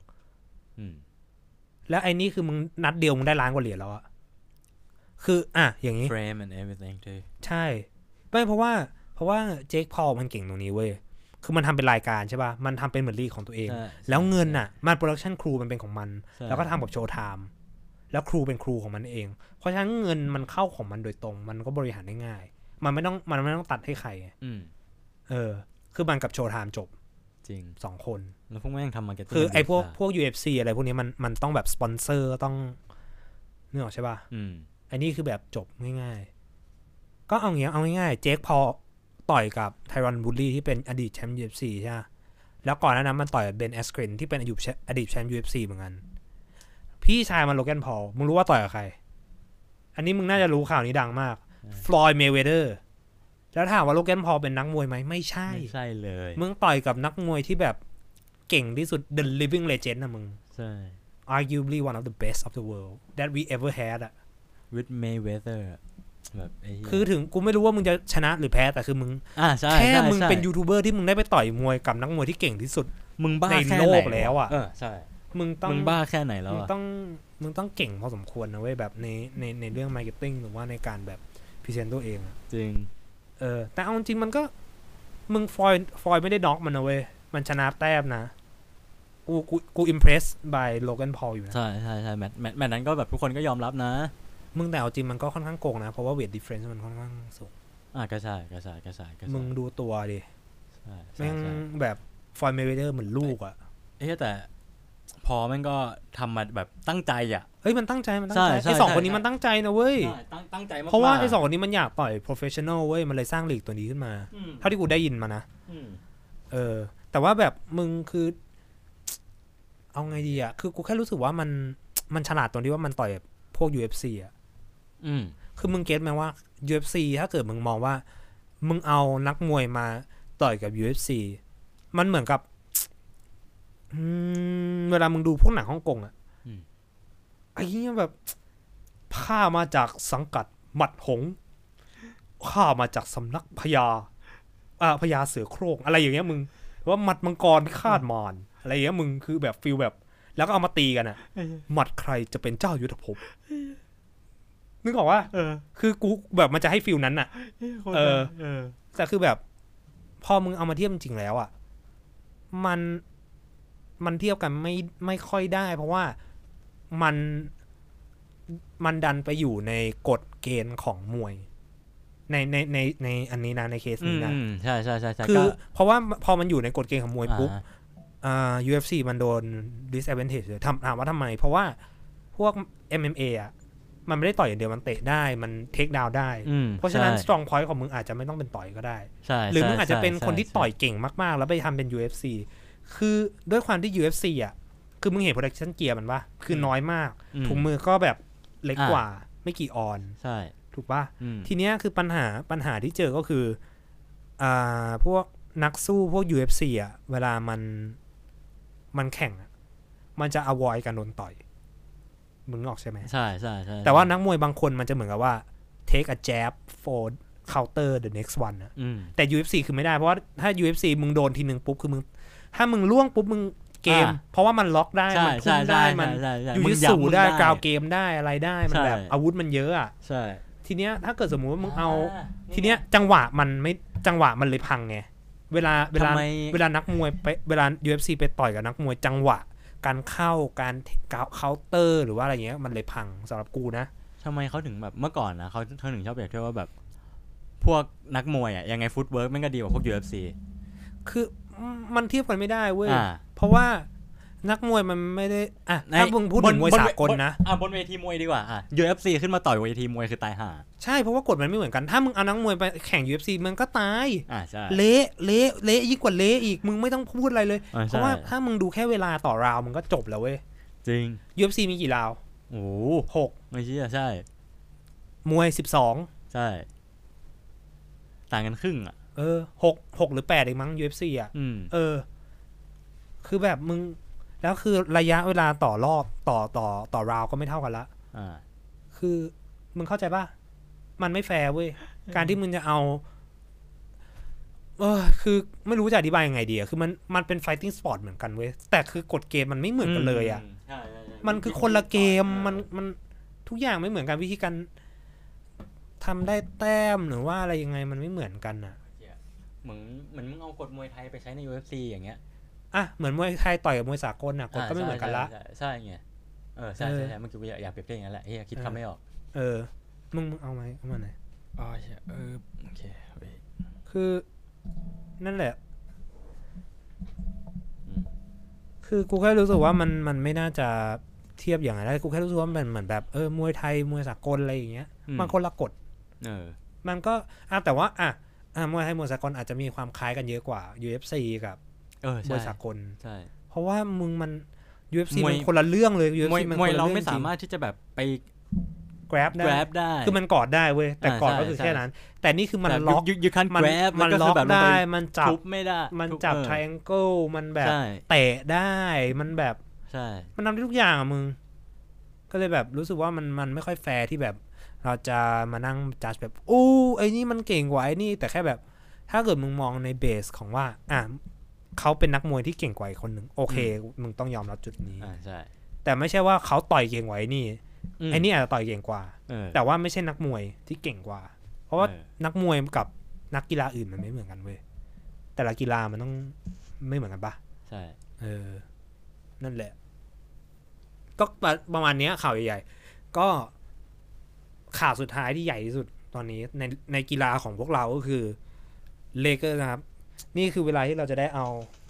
แล้วไอ้นี่คือมึงนัดเดียวมึงได้ล้านกว่าเหรียญแล้วอะคืออย่างนี้ frame and everything too ใช่ไม่เพราะว่าเจคพอลมันเก่งตรงนี้เว้ยคือมันทำเป็นรายการใช่ป่ะมันทำเป็นเหมือนลีกของตัวเองแล้วเงินน่ะมันโปรดักชั่นครูมันเป็นของมันแล้วก็ทำกับโชว์ไทม์แล้วครูเป็นครูของมันเองเพราะฉะนั้นเงินมันเข้าของมันโดยตรงมันก็บริหารได้ง่ายมันไม่ต้องตัดให้ใครคือมันกับโชว์ไทม์จบจริง 2 คนแล้วพวกแม่งทำมาร์เก็ตติ้งคือไอ้พวก UFC อะไรพวกนี้มันต้องแบบสปอนเซอร์ต้องนึกออกใช่ป่ะอันนี้คือแบบจบง่ายๆก็เอาง่ายๆเจคพอลต่อยกับไทรอนวูดลี่ที่เป็นอดีตแชมป์ UFC ใช่ไหมแล้วก่อนหน้านั้นมันต่อยกับเบนแอสเครนที่เป็นอดีตแชมป์ UFC เหมือนกันพี่ชายมันโลแกนพอลมึงรู้ว่าต่อยกับใครอันนี้มึงน่าจะรู้ข่าวนี้ดังมากฟลอยด์ เมย์เวเดอร์แล้วถามว่าโลแกนพอลเป็นนักมวยไหมไม่ใช่เลยมึงต่อยกับนักมวยที่แบบเก่งที่สุด The Living Legend นะมึงใช่ arguably one of the best of the world that we ever had อะ with Mayweather แบบคือถึงกูไม่รู้ว่ามึงจะชนะหรือแพ้แต่คือมึงแค่มึงเป็นยูทูบเบอร์ที่มึงได้ไปต่อยมวยกับนักมวยที่เก่งที่สุดมึงบ้าในโลกแล้วอ่ะใช่มึงบ้าแค่ไหนแล้วมึงต้องเก่งพอสมควรนะเว้ยแบบในเรื่องมาร์เก็ตติ้งหรือว่าในการแบบพรีเซนต์ตัวเองจริงแต่เอาจริงมันก็มึงฟอยไม่ได้น็อกมันนะเว้ยมันชนะแต้มนะกูอิมเพรสบายโลแกนพอลอยู่นะใช่แมตช์นั้นก็แบบทุกคนก็ยอมรับนะมึงแต่เอาจริงมันก็ค่อนข้างโกงนะเพราะว่าเวทดิฟเฟรนซ์มันค่อนข้างสูงก็ใช่มึงดูตัวดิแม่งแบบฟอยเมเวเดอร์เหมือนลูกอ่ะแต่พอแม่งก็ทำมาแบบตั้งใจอ่ะเฮ้ยมันตั้งใจไอ้2 คนนี้มันตั้งใจนะเว้ยตั้งใจมากเพราะว่าไอ้2 คนนี้มันอยากต่อยโปรเฟชชั่นอลเว้ยมันเลยสร้างลีกตัวนี้ขึ้นมาเท่าที่กูได้ยินมานะแต่ว่าแบบมึงคือเอาไงดีอ่ะคือกูแค่รู้สึกว่ามันฉลาดตรงที่ว่ามันต่อยพวก UFC อ่ะคือมึงเก็ทไหมว่า UFC ถ้าเกิดมึงมองว่ามึงเอานักมวยมาต่อยกับ UFC มันเหมือนกับเวลามึงดูพวกหนังฮ่องกงอ่ะไอ้เงี้ยแบบข้ามาจากสังกัดหมัดหงข้ามาจากสำนักพญาเสือโคร่งอะไรอย่างเงี้ยมึงว่าหมัดมังกรคาดมารอะไรอย่างเงี้ยมึงคือแบบฟีลแบบแล้วก็เอามาตีกันอ่ะหมัดใครจะเป็นเจ้ายุทธภพนึกออกว่าคือกูแบบมันจะให้ฟีลนั้นอ่ะแต่คือแบบพอมึงเอามาเทียบจริงแล้วอ่ะมันเทียบกันไม่ค่อยได้เพราะว่ามันดันไปอยู่ในกฎเกณฑ์ของมวยในอันนี้นะในเคสนี้นะใช่คือเพราะว่าพอมันอยู่ในกฎเกณฑ์ของมวยปุ๊บ UFC มันโดน disadvantage เลยถามว่าทำไมเพราะว่าพวก MMA อ่ะมันไม่ได้ต่อยอย่างเดียวมันเตะได้มันเทคดาวน์ได้เพราะฉะนั้น strong point ของมึงอาจจะไม่ต้องเป็นต่อยก็ได้หรือมึงอาจจะเป็นคนที่ต่อยเก่งมากๆแล้วไปทำเป็น UFC คือด้วยความที่ UFC อ่ะคือมึงเห็น protection gear มันปะคือน้อยมากถุงมือก็แบบเล็กกว่าไม่กี่ออนใช่ถูกปะทีเนี้ยคือปัญหาที่เจอก็คือพวกนักสู้พวก UFC อ่ะเวลามันแข่งมันจะ avoid การโดนต่อยมึงออกใช่ไหมใช่ใช่ใช่แต่ว่านักมวยบางคนมันจะเหมือนกับว่า take a jab for counter the next one นะแต่ UFC คือไม่ได้เพราะว่าถ้า UFC มึงโดนทีนึงปุ๊บคือมึงถ้ามึงล่วงปุ๊บมึงเกมเพราะว่ามันล็อกได้มันพุ่งได้มันยูยิสูได้กราวเกมได้อะไรได้มันแบบอาวุธมันเยอะอ่ะใช่ทีเนี้ยถ้าเกิดสมมุติว่ามึงเอาทีเนี้ยจังหวะมันเลยพังไงเวลานักมวยไปเวลา UFC ไปต่อยกับนักมวยจังหวะการเข้าการเคาน์เตอร์หรือว่าอะไรเงี้ยมันเลยพังสำหรับกูนะทำไมเขาถึงแบบเมื่อก่อนนะเขาถึงชอบเปรียบเทียบว่าแบบพวกนักมวยอ่ะยังไงฟุตเวิร์กมันก็ดีกว่าพวก UFC คือมันเทียบกันไม่ได้เว้ยเพราะว่านักมวยมันไม่ได้ถ้ามึงพูดถึงมวยสากลนะบนเวทีมวยดีกว่าUFC ขึ้นมาต่อยเวทีมวยคือตายห่าใช่เพราะว่ากฎมันไม่เหมือนกันถ้ามึงเอานักมวยไปแข่ง UFC มันก็ตายใช่เละยิ่งกว่าเละอีกมึงไม่ต้องพูดอะไรเลยเพราะว่าถ้ามึงดูแค่เวลาต่อราวมึงก็จบแล้วเว้ยจริง UFC มีกี่ราวโอ้ 6 ไม่ใช่ใช่มวย12 ใช่ต่างกันครึ่ง 6หรือ8เองมั้ง UFC คือแบบมึงแล้วคือระยะเวลาต่อรอบต่อราวก็ไม่เท่ากันละคือมึงเข้าใจป่ะมันไม่แฟร์เว้ยการที่มึงจะเอาคือไม่รู้จะอธิบายยังไงดีคือมันเป็น fighting sport เหมือนกันเว้ยแต่คือกฎเกมมันไม่เหมือนกันเลยมันคือคนละเกมมันทุกอย่างไม่เหมือนกันวิธีการทำได้แต้มหรือว่าอะไรยังไงมันไม่เหมือนกันเหมือนมึงเอากฎมวยไทยไปใช้ใน UFC อย่างเงี้ยเหมือนมวยไทยต่อยกับมวยสากลกฎก็ไม่เหมือนกันละใช่ไงใช่เมื่อกี้อยากเปรียบเทียบอย่างนั้นแหละคิดคำไม่ออกมึงเอาไหมเอามาไหนโอเคคือนั่นแหละคือกูแค่รู้สึกว่ามันไม่น่าจะเทียบอย่างไรได้กูแค่รู้สึกว่ามันเหมือนแบบมวยไทยมวยสากลอะไรอย่างเงี้ยมันคนละกฎมันก็แต่ว่ามวยไทยมวยสากลอาจจะมีความคล้ายกันเยอะกว่า UFC กับมวยสากลใช่เพราะว่ามึงมัน UFC มันคนละเรื่องเลย UFC มันมวยเราไม่สามารถที่จะแบบไป grab ได้คือมันกอดได้เว้ยแต่กอดก็คือแค่นั้นแต่นี่คือมันล็อกมันล็อกได้มันจับไม่ได้มันจับ triangle มันแบบเตะได้มันแบบใช่มันทำได้ทุกอย่างมึงก็เลยแบบรู้สึกว่ามันไม่ค่อยแฟร์ที่แบบเราจะมานั่งจัดแบบไอ้นี่มันเก่งกว่าไอ้นี่แต่แค่แบบถ้าเกิดมึงมองในเบสของว่าเขาเป็นนักมวยที่เก่งกว่าคนหนึ่งโอเคมึงต้องยอมรับจุดนี้ใช่แต่ไม่ใช่ว่าเขาต่อยเก่งกว่าไอ้นี่ไอ้นี่อาจจะต่อยเก่งกว่าแต่ว่าไม่ใช่นักมวยที่เก่งกว่าเพราะว่านักมวยกับนักกีฬาอื่นมันไม่เหมือนกันเว้ยแต่ละกีฬามันต้องไม่เหมือนกันปะใช่นั่นแหละก็ประมาณนี้ข่าวใหญ่ๆก็ข่าวสุดท้ายที่ใหญ่ที่สุดตอนนี้ในกีฬาของพวกเราก็คือเลเกอร์นะครับนี่คือเวลาที่เราจะได้เอา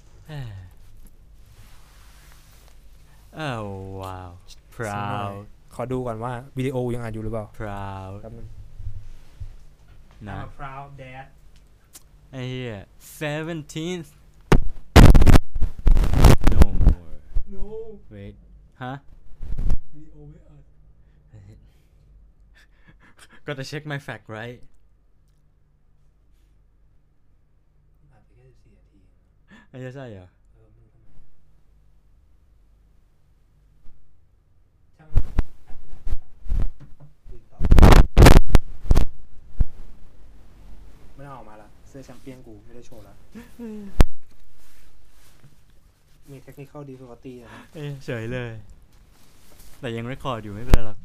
ว้าว proud ขอดูก่อนว่าวิดีโอยังอัดอยู่หรือเปล่า proud นะ proud dad ไอ้เหี้ย 17th no more no wait ฮะวิดีโอไม่อัด gotta check my fact rightไอ้ใช่เหรอไม่ได้ออกมาละเสื้อแชมเปี้ยนกูไม่ได้โชว์แล้วมี technical difficulty นะเฉยเลยแต่ยังเรคคอร์ดอยู่ไม่เป็นไรหรอก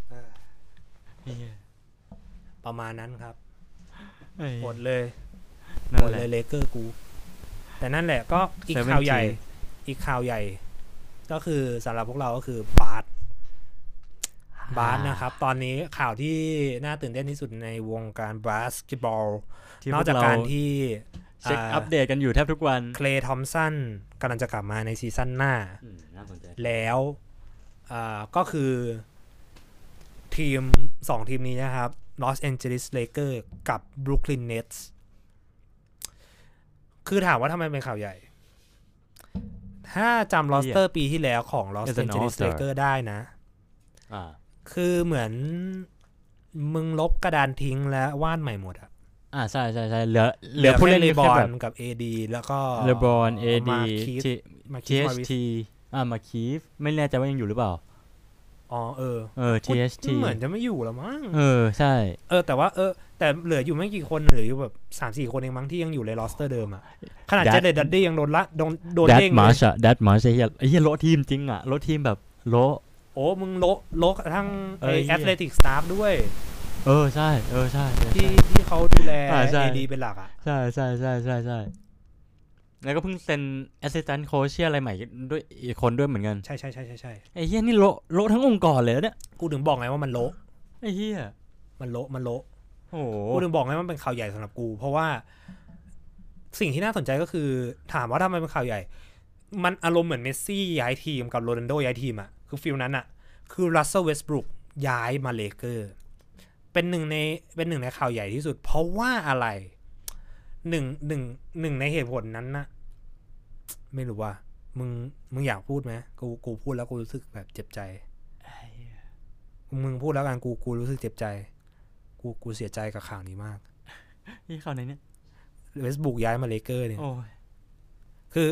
ประมาณนั้นครับหมดเลย เลเกอร์กูแต่นั่นแหละก็อีกข่าวใหญ่ก็คือสำหรับพวกเราก็คือบาสนะครับตอนนี้ข่าวที่น่าตื่นเต้นที่สุดในวงการบาสเกตบอลนอกจากการที่เช็คอัปเดตกันอยู่แทบทุกวันเคลย์ทอมสันกำลังจะกลับมาในซีซั่นหน้าน่าสนใจแล้วก็คือทีม2ทีมนี้นะครับ Los Angeles Lakers กับ Brooklyn Nets คือถามว่าทำไมเป็นข่าวใหญ่ถ้าจำ roster ปีที่แล้วของ Los Angeles Lakers ได้นะคือเหมือนมึงลบกระดานทิ้งแล้ววาดใหม่หมดใช่ๆๆเหลือผู้เล่นเลบอนกับ AD แล้วก็เลบอน AD THT มาคีฟไม่แน่ใจว่ายังอยู่หรือเปล่าTHT เหมือนจะไม่อยู่แล้วมั้งใช่แต่ว่าแต่เหลืออยู่ไม่กี่คนเหลืออยู่แบบ 3-4 คนเองมั้งที่ยังอยู่ในโรสเตอร์เดิมขนาดเจเดดัดดี้ยังโดนเด้งเลยดัตมาร์ชไอ้เหี้ยโลทีมจริงโลทีมแบบโลมึงโลทั้งแอตเลติกสตาฟด้วยใช่ใช่ที่เขาดูแล AD เป็นหลักใช่แล้วก็เพิ่งเซ็น assistant coach อะไรใหม่ด้วยอีกคนด้วยเหมือนกันใช่ๆๆๆไอ้เหี้ยนี่โลทั้งองค์กรเลยเนี่ยกูถึงบอกไงว่ามันโลไอ้เหี้ยมันโลโอ้โหกูถึงบอกไงว่ามันเป็นข่าวใหญ่สำหรับกูเพราะว่าสิ่งที่น่าสนใจก็คือถามว่าทำไมเป็นข่าวใหญ่มันอารมณ์เหมือนเมสซี่ย้ายทีมกับโรนัลโดย้ายทีมคือฟีลนั้นคือรัสเซล เวสต์บรูคย้ายมาเลเกอร์เป็นหนึ่งในข่าวใหญ่ที่สุดเพราะว่าอะไรหนึ่งในเหตุผลนั้นนะไม่รู้ว่ามึงอยากพูดไหมกูพูดแล้วกูรู้สึกแบบเจ็บใจมึงพูดแล้วกันกูรู้สึกเจ็บใจกูเสียใจกับข่าวนี้มากนี่ข่าวไหนเนี่ยเวสต์บรูคย้ายมาเลเกอร์เนี่ยคือ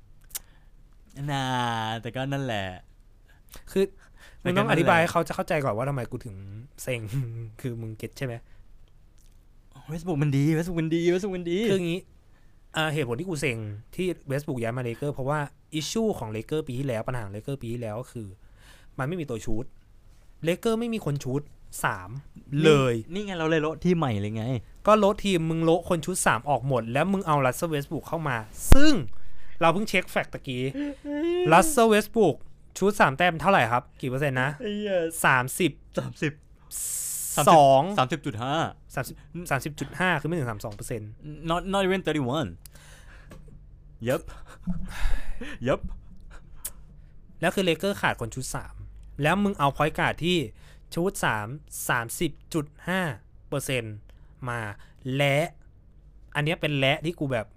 แต่ก็นั่นแหละคือมึงต้องอธิบายให้เขาจะเข้าใจก่อนว่าทำไมกูถึงเซ็งคือมึงเก็ตใช่ไหมเวสต์บรูคมันดีคืออย่างนี้เหตุผลที่กูเซ็งที่เวสต์บรูคย้ายมาเลเกอร์เพราะว่าอิชชูของเลเกอร์ปีที่แล้วปัญหาเลเกอร์ปีที่แล้วก็คือมันไม่มีตัวชูตเลเกอร์ไม่มีคนชูต3เลยนี่ไงเราเลยโละที่ใหม่เลยไงก็โละทีมมึงโละคนชูต3ออกหมดแล้วมึงเอารัสเซล เวสต์บรูคเข้ามาซึ่งเราเพิ่งเช็คแฟกต์ตะกี้รัสเซล เวสต์บรูคชูต3แต้มเท่าไหร่ครับกี่เปอร์เซ็นต์นะ30.5 คือไม่ถึง 32% not even 31 Yup แล้วคือเลเกอร์ขาดคนชุด3แล้วมึงเอาพอยต์การ์ดที่ชุด30.5% มาและอันนี้เป็นและที่กูแบบ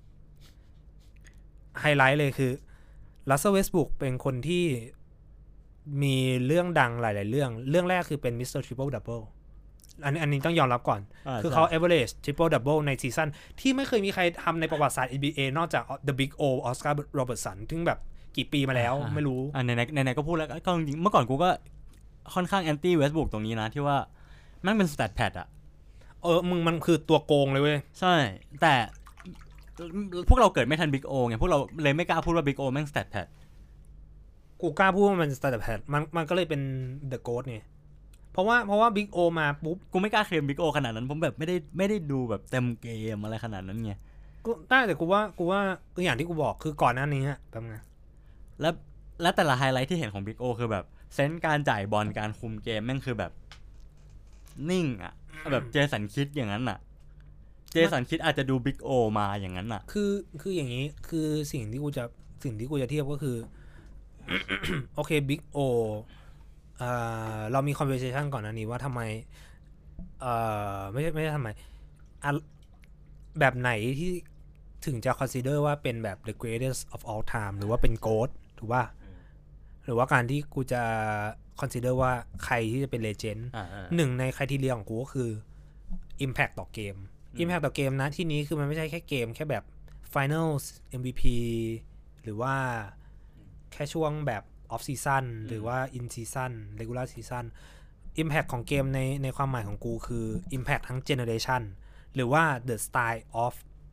ไฮไลท์เลยคือรัสเซล เวสต์บรูคเป็นคนที่มีเรื่องดังหลายๆเรื่องแรกคือเป็นมิสเตอร์ทริปเปิลดับเบิลอันนี้ต้องยอมรับก่อนคือเขา average triple double ในซีซั่นที่ไม่เคยมีใครทำในประวัติศาสตร์ NBA นอกจาก The Big O ออสการ์โรเบิร์ตสันซึ่งแบบกี่ปีมาแล้วไม่รู้ไหนก็พูดแล้วก็จริงเมื่อก่อนกูก็ค่อนข้างแอนตี้เวสต์บรูคตรงนี้นะที่ว่ามันเป็น stat pad มึงมันคือตัวโกงเลยเว้ยใช่แต่พวกเราเกิดไม่ทัน Big O ไงพวกเราเลยไม่กล้าพูดว่า Big O แม่ง stat pad กูกล้าพูดว่ามัน stat pad มันก็เลยเป็น The GOAT ไงเพราะว่าบิ๊กโอมาปุ๊บกูไม่กล้าเคลมบิ๊กโอขนาดนั้นผมแบบไม่ได้ดูแบบเต็มเกมอะไรขนาดนั้นไงกูได้แต่กูว่าอย่างที่กูบอกคือก่อนหน้านี้แบบไงแล้วแต่ละไฮไลท์ที่เห็นของบิ๊กโอคือแบบเซนส์การจ่ายบอลการคุมเกมแม่งคือแบบนิ่งแบบเจสันคิดอย่างนั้นเจสันคิดอาจจะดูบิ๊กโอมาอย่างนั้นคืออย่างนี้คือสิ่งที่กูจะเทียบก็คือ โอเคบิ๊กโอเรามี conversation ก่อนหน้านี้ว่าทำไมไม่ใช่ทำไมแบบไหนที่ถึงจะ consider ว่าเป็นแบบ the greatest of all time หรือว่าเป็น GOAT ถูกป่ะหรือว่าการที่กูจะ consider ว่าใครที่จะเป็น legend หนึ่งใน criteria ของกูก็คือ impact ต่อเกม impact ต่อเกมนะที่นี้คือมันไม่ใช่แค่เกมแค่แบบ finals MVP หรือว่าแค่ช่วงแบบ off season หรือว่า in season regular season impact ของเกมในความหมายของกูคือ impact ทั้ง generation หรือว่า the style of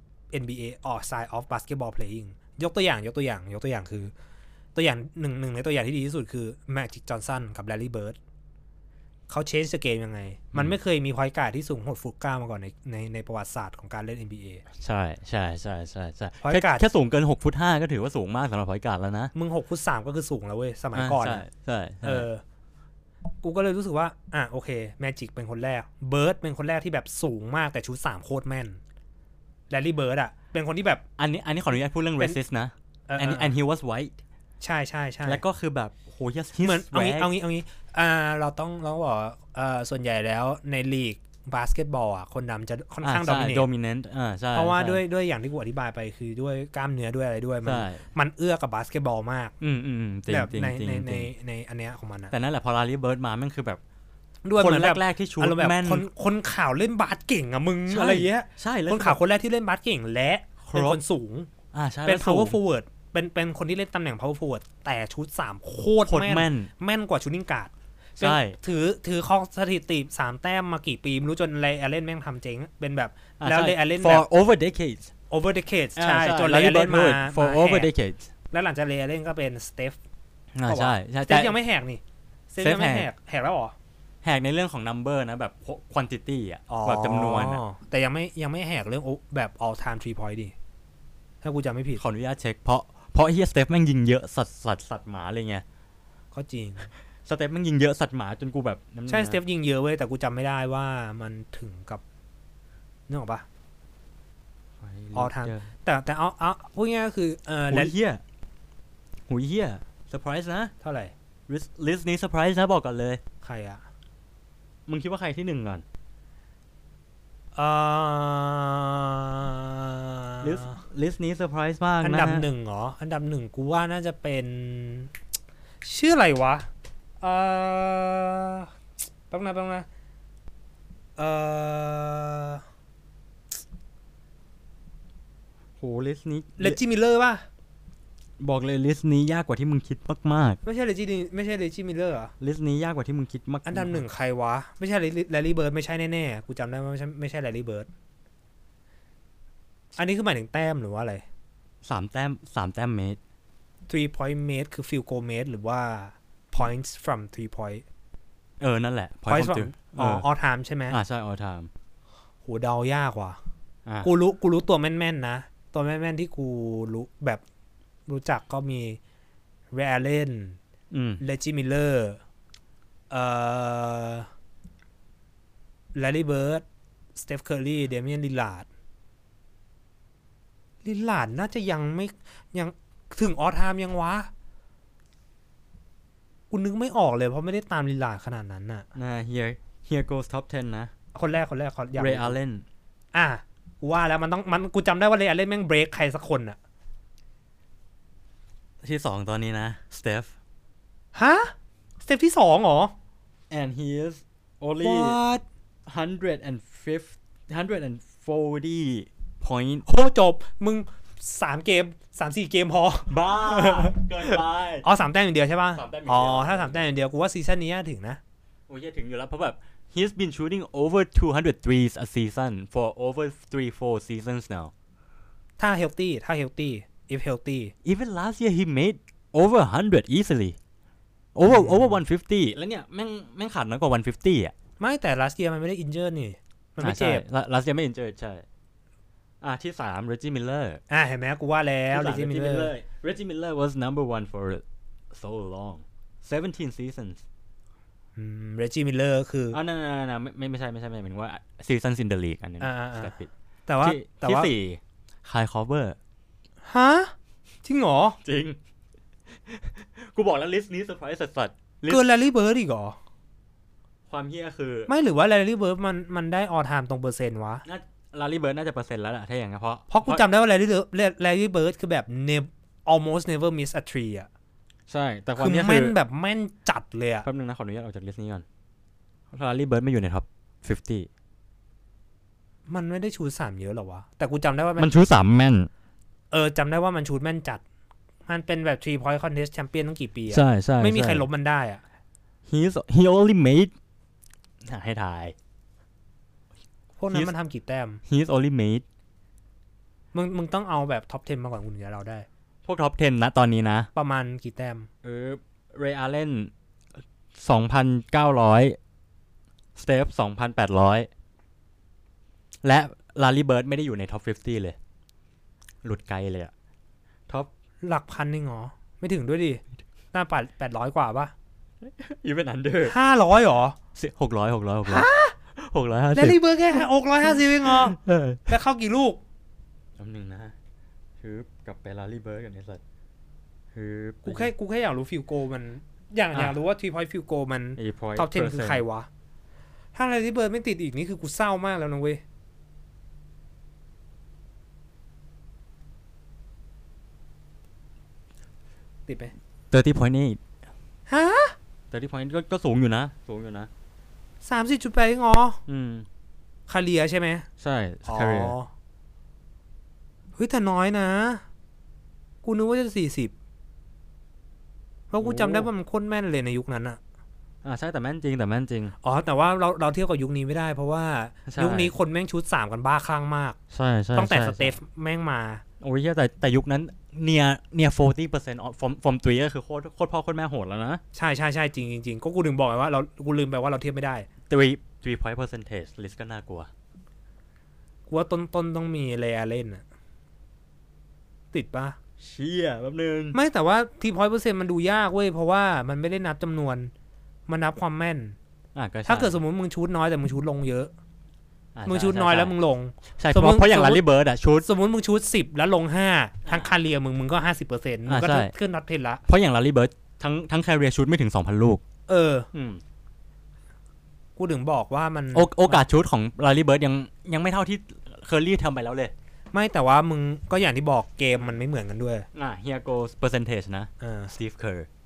NBA or style of basketball playing ยกตัวอย่างคือตัวอย่างหนึ่งในตัวอย่างที่ดีที่สุดคือ Magic Johnson กับ Larry Bird เขา change the game ยังไงมันไม่เคยมีพอยต์การ์ดที่สูง6 ฟุต 9มาก่อนในประวัติศาสตร์ของการเล่น NBA ใช่พอยต์การ์ดแค่สูงเกิน6 ฟุต 5ก็ถือว่าสูงมากสำหรับพอยต์การ์ดแล้วนะมึง6 ฟุต 3ก็คือสูงแล้วเว้ยสมัยก่อนใช่กูก็เลยรู้สึกว่าโอเค Magic เป็นคนแรก Bird เป็นคนแรกที่แบบสูงมากแต่ชุด3โคตรแม่น Larry Bird เป็นคนที่แบบอันนี้ขออนุญาตพูดเรื่อง racist นะand he was white ใช่แล้วก็คือแบบโหเหมือนเอางี้เราต้องบอกส่วนใหญ่แล้วในลีกบาสเกตบอลคนดำจะค่อนข้าง dominant ใช่เพราะว่าด้วยอย่างที่กูอธิบายไปคือด้วยกล้ามเนื้อด้วยอะไรด้วยมันเอื้อกับบาสเกตบอลมากแบบในอันเนี้ยของมันนะแต่นั่นแหละพอลารีเบิร์ดมามันคือแบบด้วยคนแรกๆที่ชูแม่นคนข่าวเล่นบาสเก่งอะมึงอะไรเงี้ยใช่คนข่าวคนแรกที่เล่นบาสเก่งและเป็นคนสูงเป็น power forward เป็นคนที่เล่นตำแหน่ง power forward แต่ชุด3โคตรแม่นกว่าชูนิ่งการ์ดใช่ถือครองสถิติ3แต้มมากี่ปีไม่รู้จนเลย์อเลนแม่งทำเจ๊งเป็นแบบแล้วเลย์อเลนแบบ for over decades ใช่จนเลย์อเลนมา for over decades แล้วหลังจากเลย์อเลนก็เป็นสเตฟใช่สเตฟยังไม่แหกนี่สเตฟยังไม่แหกแล้วหรอแหกในเรื่องของ number นะแบบ quantity อ่ะแบบจำนวนแต่ยังไม่แหกเรื่องแบบ all time 3 point ดิถ้ากูจำไม่ผิดขออนุญาตเช็คเพราะเฮียสเตฟแม่งยิงเยอะสัตว์หมาเลยไงก็จริงสเตฟแม่งยิงเยอะสัตว์หมาจนกูแบบใช่สเตฟยิงเยอะเว้ยแต่กูจำไม่ได้ว่ามันถึงกับนึกออกปะall time แต่เอาพูดง่ายๆก็คือหูเฮียเซอร์ไพรส์นะเท่าไหร่ลิสต์นี้เซอร์ไพรส์นะบอกก่อนเลยใครอะมึงคิดว่าใครที่1ก่อนลิสต์นี้เซอร์ไพรส์มากนะอันดับ1เหรออันดับ1กูว่าน่าจะเป็นชื่ออะไรวะต้องนะโหลิสต์นี้เลจิมิลเลอร์ป่ะบอกเลยลิสต์นี้ยากกว่าที่มึงคิดมากๆไม่ใช่เลจิมิลเลอร์เหรอลิสต์นี้ยากกว่าที่มึงคิดมากอันดับ1ใครวะไม่ใช่แลรี่เบิร์ดไม่ใช่แน่ๆกูจำได้ว่าไม่ใช่แลรี่เบิร์ดอันนี้คือหมายถึงแต้มหรือว่าอะไร 3แต้มเมตร 3 point made คือ field goal made หรือว่า points from 3 point นั่นแหละ points from all time ใช่ไหมใช่ all time โหเดายากว่ะกูรู้ตัวแม่นๆนะตัวแม่นๆที่กูรู้แบบรู้จักก็มีเรอัลเลนเลจิมิลเลอร์แลรี่เบิร์ดสเตฟเคอร์รีเดเมียนลิลลาร์ดน่าจะยังถึงออทามยังวะกูนึกไม่ออกเลยเพราะไม่ได้ตามลิลลาร์ดขนาดนั้นน่ะ here goes top 10 นะคนแรกเรอัลเลนกูว่าแล้วมันกูจำได้ว่าเรอัลเลนแม่งเบรกใครสักคนน่ะที่2ตอนนี้นะสเตฟสเตฟที่2เหรอ and he is only 140 point โหจบมึง3 เกม 3-4 เกมพอบ้าเกินไป 3 แต้มอย่างเดียวใช่ป่ะถ้า3 แต้มอย่างเดียวกูว่าซีซั่นนี้ถึงนะโอ้ยถึงอยู่แล้วเพราะแบบ he's been shooting over 200 threes a season for over 3-4 seasons now ถ้า healthy if healthy even last year he made over 100 easily over 150แล้วเนี่ยแม่งขาดน้อยกว่า150อ่ะไม่แต่ last year มันไม่ได้ injured นี่มันไม่เจ็บ last year ไม่ injured ใช่ที่3 Reggie Miller เห็นไหมกูว่าแล้ว Reggie Miller was number 1 for so long 17 seasons Reggie Miller คือนั่นไม่ใช่หมายถึงว่า seasons in the league อันนี้แต่ว่าที่4 Kyle Korver จริงเหรอจริงกูบอกแล้วลิสต์นี้เซอร์ไพรส์สัสๆเกินแลรี่เบิร์ดอีกเหรอความเฮี้ยคือไม่หรือว่าแลรี่เบิร์ดมันได้ออลไทม์ตรงเปอร์เซ็นต์วะลารี่เบิร์ดน่าจะเปอร์เซ็นต์แล้วล่ะถ้าอย่างนั้นเพราะกูจำได้ว่าแลรี่เบิร์ดคือแบบ almost never miss a tree อ่ะใช่แต่ความเนี้ยคือแม่นแบบแม่นจัดเลยอ่ะแป๊บนึงนะขออนุญาตออกจากลิสต์นี้ก่อนลารี่เบิร์ดไม่อยู่ในท็อป50 มันไม่ได้ชู3เยอะหรอวะแต่กูจำได้ว่ามันชู3แม่นจำได้ว่ามันชูแม่นจัดมันเป็นแบบ 3 point contest champion ตั้งกี่ปีอ่ะใช่ไม่มีใครลบมันได้อ่ะ he only made ให้ทายพวกนั้นมันทำกี่แต้ม he's only made มึงต้องเอาแบบท็อป 10 มาก่อนคุณจะเราได้พวกท็อป 10 นะตอนนี้นะประมาณกี่แต้มเรอัลเลน 2,900 สเตฟ 2,800 และลารี่เบิร์ดไม่ได้อยู่ในท็อป50เลยหลุดไกลเลยอะท็อปหลักพันนึงเหรอไม่ถึงด้วยดิหน้า800กว่าป่ะ even under 500หรอ 600 650 แลรี่เบิร์ดแค่650เองเหรอแล้วเข้ากี่ลูกอันหนึ่งนะคือกับไปลารีเบิร์ดกันในสัตว์คือกูแค่อยากรู้ฟิลโกมันอยากรู้ว่า3 point field goal มันท็อป 10 คือใครวะถ้าลารีเบิร์ดไม่ติดอีกนี่คือกูเศร้ามากแล้วนะเว้ยติดไหม 30 point นี่ฮะ 30 point ก็สูงอยู่นะ 30.8เองอ๋อคาเรียใช่ไหมใช่คาเรียเฮ้ยแต่น้อยนะกูนึกว่าจะ40เพราะกูจำได้ว่ามันโคตรแม่นเลยในยุคนั้นอะใช่แต่แม่นจริงอ๋อแต่ว่าเราเทียบกับยุคนี้ไม่ได้เพราะว่ายุคนี้คนแม่งชุด3กันบ้าคลั่งมากใช่ตั้งแต่สเตฟแม่งมาโอ้ยแต่ยุคนั้นเนีย 40% from 3ก็คือโคตรพ่อโคตรแม่โหดแล้วนะใช่จริงก็กูถึงบอกไงว่ากูลืมไปว่าเราเทียบไม่ได้ 3 point percentage list ก็น่ากลัวกูว่าต้นต้องมีเลอาเล่นอะติดปะเชี่ยแป๊บนึงไม่แต่ว่า3% มันดูยากเว้ยเพราะว่ามันไม่ได้นับจำนวนมันนับความแม่นถ้าเกิดสมมติมึงชูดน้อยแต่มึงชูดลงเยอะมึงชูดน้อยแล้วมึงลงใช่เพราะอย่างลารีเบิร์ดอะชูดสมมติมึงชูด10แล้วลง5ทั้งคาเรียมึงก็ 50% มึงก็ขึ้นน็อตเทนละเพราะอย่างลารีเบิร์ดทั้งคาเรียชูดไม่ถึง 2,000 ลูกกูถึงบอกว่ามันโอกาสชูดของลารีเบิร์ดยังไม่เท่าที่เคอร์รี่ทำไปแล้วเลยไม่แต่ว่ามึงก็อย่างที่บอกเกมมันไม่เหมือนกันด้วย here goes percentage นะสตีฟเคอร์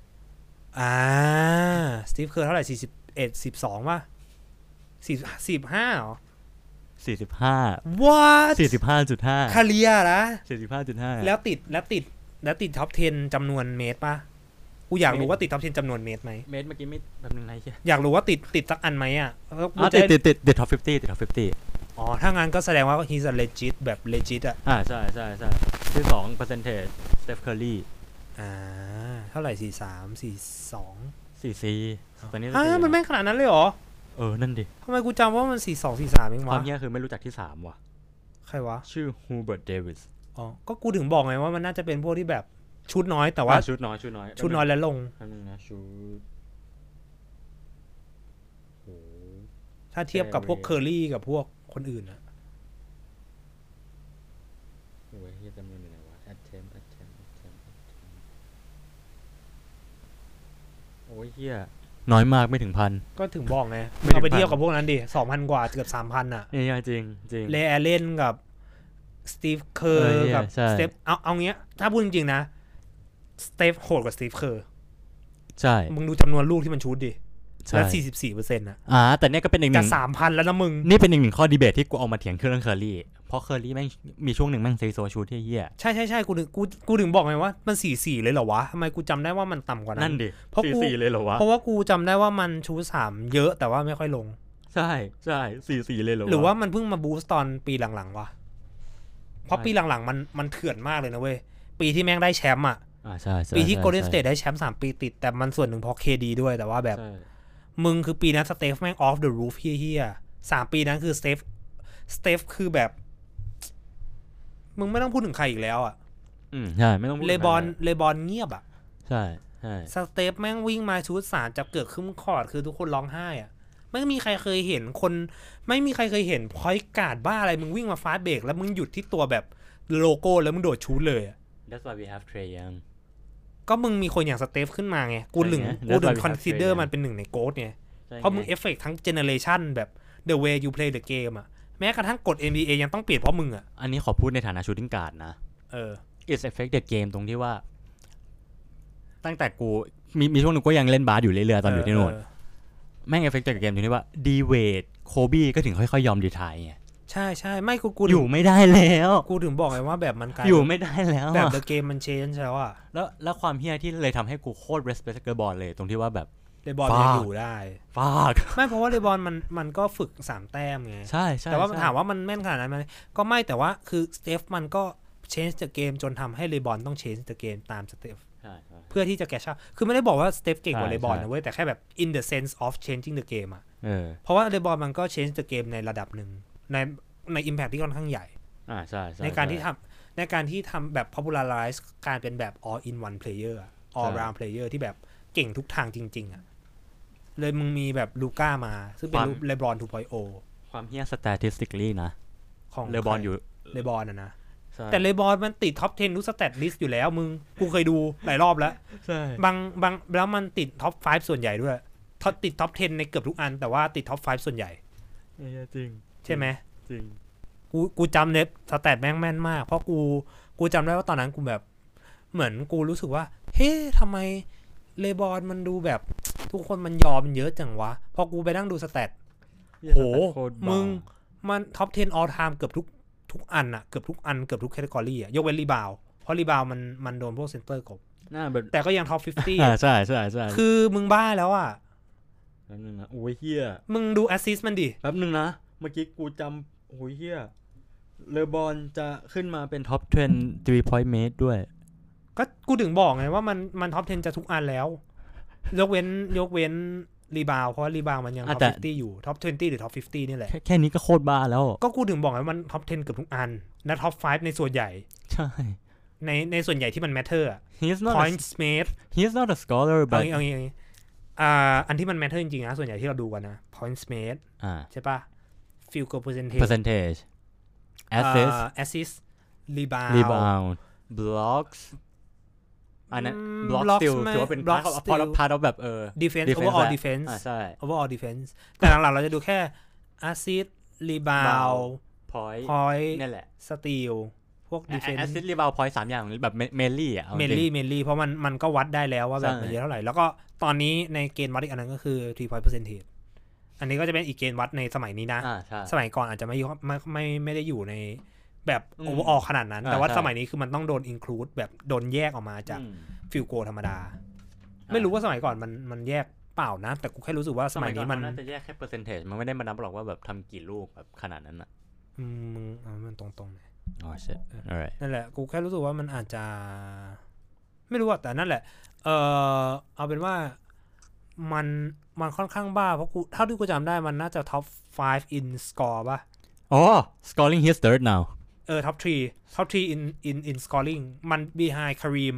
สตีฟเคอร์เท่าไหร่41 12ป่ะ45หรอ 45 what 45.5 คาเรียนะ 45.5 แล้วติดท็อป10จำนวนเมตรป่ะกูอยากรู้ว่าติดท็อป10จำนวนเมตรไหมเมตรเมื่อกี้ไม่แบบนึงไหนใช่อยากรู้ว่าติดสักอันไหมอ่ะติดท็อป50 อ๋อถ้างั้นก็แสดงว่า he's a legit แบบ legit อ่ะใช่ที่2 percentage Steph Curry เท่าไหร่43 44ตอนนี้มันแม่งขนาดนั้นเลยเหรอนั่นดิทำไมกูจำว่ามัน42 43เองวะความเหี้ยคือไม่รู้จักที่3ว่ะใครวะชื่อ Hubert Davis ก็กูถึงบอกไงว่ามันน่าจะเป็นพวกที่แบบชุดน้อยแต่ว่าชุดน้อยแล้วลงนะชุดถ้าเทียบกับพวกเคอร์รี่กับพวกคนอื่นอะโอ้ยเฮียจำนวนอยู่ไหนวะ attempt โอ้ยเฮียน้อยมากไม่ถึง 1,000 ก็ถึงบอกไงเอาไปเทียบกับพวกนั้นดิ 2,000 กว่าเกือบ 3,000 อ่ะนี่จริงเลแอเลนกับสตีฟเคอร์กับสเตฟเอาเงี้ยถ้าพูดจริงๆนะสเตฟโหดกว่าสตีฟเคอร์ใช่มึงดูจำนวนลูกที่มันชูดดิแล้ว 44% นะแต่เนี่ยก็เป็นอีกหนึ่ง 3,000 แล้วนะมึงนี่เป็นอีกหนึ่งข้อดีเบตที่กูเอามาเถียงเรื่องเคอร์รี่เพราะเคอร์รี่แม่งมีช่วงหนึ่งแม่งเซโซชูดที่เหี้ยใช่กูถึงบอกไงว่ามัน44เลยเหรอวะทำไมกูจำได้ว่ามันต่ำกว่านั้นนั่นดิ44เลยเหรอวะเพราะว่ากูจำได้ว่ามันชูด3เยอะแต่ว่าไม่ค่อยลงใช่44เลยเหรอหรือว่ามันเพิ่งมาบูสต์ตอนปีหลังๆวะเพราะปีหลังๆมันเถื่อนมากเลยนะเว้ยปีที่แม่งได้แชมป์อ่ะใช่ปีที่ Golden State ได้แชมป์3ปีติดแต่มันส่วนหนึ่งเพราะ KD ด้วยแต่ว่าแบบมึงคือปีนั้นสเตฟแม่ง off the roof เฮี้ย3ปีนั้นคือสเตฟคือแบบมึงไม่ต้องพูดถึงใครอีกแล้วอ่ะใช่ไม่ต้องพูดเลบอนเงียบอ่ะใช่สเตฟแม่งวิ่งมาชุด3จับเกือบครึ่งคอร์ตคือทุกคนร้องไห้อ่ะไม่มีใครเคยเห็นพอยต์การ์ดบ้าอะไรมึงวิ่งมาฟาสต์เบรกแล้วมึงหยุดที่ตัวแบบโลโก้แล้วมึงโดดชูดเลยอ่ะ That's why we have Trae Young ก็มึงมีคนอย่างสเตฟขึ้นมาไงกูถึงคอนซิเดอร์มันเป็นหนึ่งในโกดไงเพราะมึงเอฟเฟกต์ทั้งเจเนอเรชันแบบ the way you play the game อ่ะแม้กระทั่งกฎ NBA ยังต้องเปลี่ยนเพราะมึงอ่ะอันนี้ขอพูดในฐานะชูตติ้งการ์ดนะIt's affect the game ตรงที่ว่าตั้งแต่กูมีช่วงนึงก็ยังเล่นบาสอยู่เรื่อยๆตอนอยู่ที่โน่นแม่ง affect the game ตรงที่ว่าดีเวดโคบี้ก็ถึงค่อยๆยอมรีไทร์ไงใช่ไม่กูอยู่ไม่ได้แล้วกูถึงบอกไงว่าแบบมันกลายอยู่ไม่ได้แล้วแบบ the game มัน change แล้วอ่ะแล้วความเฮี้ยที่เลยทำให้กูโคตร respect เลบอนเลยตรงที่ว่าแบบเลบอนยังอยู่ได้ฟากไม่เพราะว่าเลบอนมันก็ฝึก3แต้มไงใช่แต่ว่าถามว่ามันแม่นขนาดนั้นมั้ยก็ไม่แต่ว่าคือสเตฟมันก็ change the game จนทำให้เลบอนต้อง change the game ตามสเตฟเพื่อที่จะแกชคือไม่ได้บอกว่าสเตฟเก่งกว่าเลบอนนะเว้ยแต่แค่แบบ in the sense of changing the game อ่ะเพราะว่าเลบอนมันก็ change the game ในระดับนึงใน impact ที่ค่อนข้างใหญ่ใช่ในการที่ทำแบบ popularize การเป็นแบบ all in one player all round player ที่แบบเก่งทุกทางจริงๆอ่ะเลยมึงมีแบบลูก้ามาซึ่งเป็นเลบรอน 2.0 ความเฮี้ย statistically นะของเลบอนอยู่เลบอนนะสแต่เลบอนมันติดท็อป10ทุกสแตทลิสต์อยู่แล้วมึงกูเคยดูหลายรอบแล้วใช่บางแล้วมันติดท็อป5ส่วนใหญ่ด้วยติดท็อป10ในเกือบทุกอันแต่ว่าติดท็อป5ส่วนใหญ่จริงใช่ไหมจริงกูจำเน็ตสแตทแม่นมากเพราะกูจำได้ว่าตอนนั้นกูแบบเหมือนกูรู้สึกว่าเฮ้ทำไมเลบอนมันดูแบบทุกคนมันยอมเยอะจังวะพอกูไปนั่งดูสแตทโหมึงมันท็อป10 all time เกือบทุกอันอะเกือบทุกแคตตากรีอะยกเว้นรีบาวเพราะรีบาวมันโดนพวกเซนเตอร์กบแต่ก็ยังท็อป50 ใช่คือมึงบ้าแล้วอะแป๊บนึงนะโอ้ยเฮียมึงดูแอสซิสต์มันดิแป๊บนึงนะเมื่อกี้กูจำโอ้ยเฮียเลบอนจะขึ้นมาเป็นท็อป10 3 point mate ด้วยก็กูถึงบอกไงว่ามันท็อป10จะทุกอันแล้วยกเว้นรีบาวเพราะรีบาวมันยังท็อป50อยู่ท็อป20หรือท็อป50นี่แหละแค่นี้ก็โคตรบ้าแล้วก็กูถึงบอกไงมันท็อป10เกือบทุกอันและท็อป5ในส่วนใหญ่ใช่ในส่วนใหญ่ที่มัน matter อ่ะ points made he's not a scholar but เอางี้อันที่มัน matter จริงๆนะส่วนใหญ่ที่เราดูกันนะ points made ใช่ป่ะ field goal percentage assist rebound blocks อันนั้น block still ถือว่าเป็น part of แบบ defense overall defense ใช่ overall defense แต่หลังๆเราจะดูแค่ assist rebound point นี่แหละ steal พวก defense assist rebound point 3อย่างแบบ mainly อ่ะ mainly เพราะมันก็วัดได้แล้วว่าแบบมันเยอะเท่าไหร่แล้วก็ตอนนี้ในเกณฑ์วัดอีกอันนึงก็คือ 3 point percentage อันนี้ก็จะเป็นอีกเกณฑ์วัดในสมัยนี้นะสมัยก่อนอาจจะไม่ได้อยู่ในแบบโอเวอร์ออลขนาดนั้นแต่ว่าสมัยนี้คือมันต้องโดน include แบบโดนแยกออกมาจากฟิลโกธรรมดาไม่รู้ว่าสมัยก่อนมันแยกเปล่านะแต่กูแค่รู้สึกว่าสมัยนี้มันน่าจะแยกแค่เปอร์เซ็นเทจมันไม่ได้มานับหรอกว่าแบบทำกี่ลูกแบบขนาดนั้นอ่ะมันตรงๆเลยอ๋อใช่นั่นแหละกูแค่รู้สึกว่ามันอาจจะไม่รู้แต่นั่นแหละเอาเป็นว่ามันค่อนข้างบ้าเพราะกูเท่าที่กูจำได้มันน่าจะท็อป5 in score ป่ะอ๋อ scoring his third now top 3 in scoring มัน behind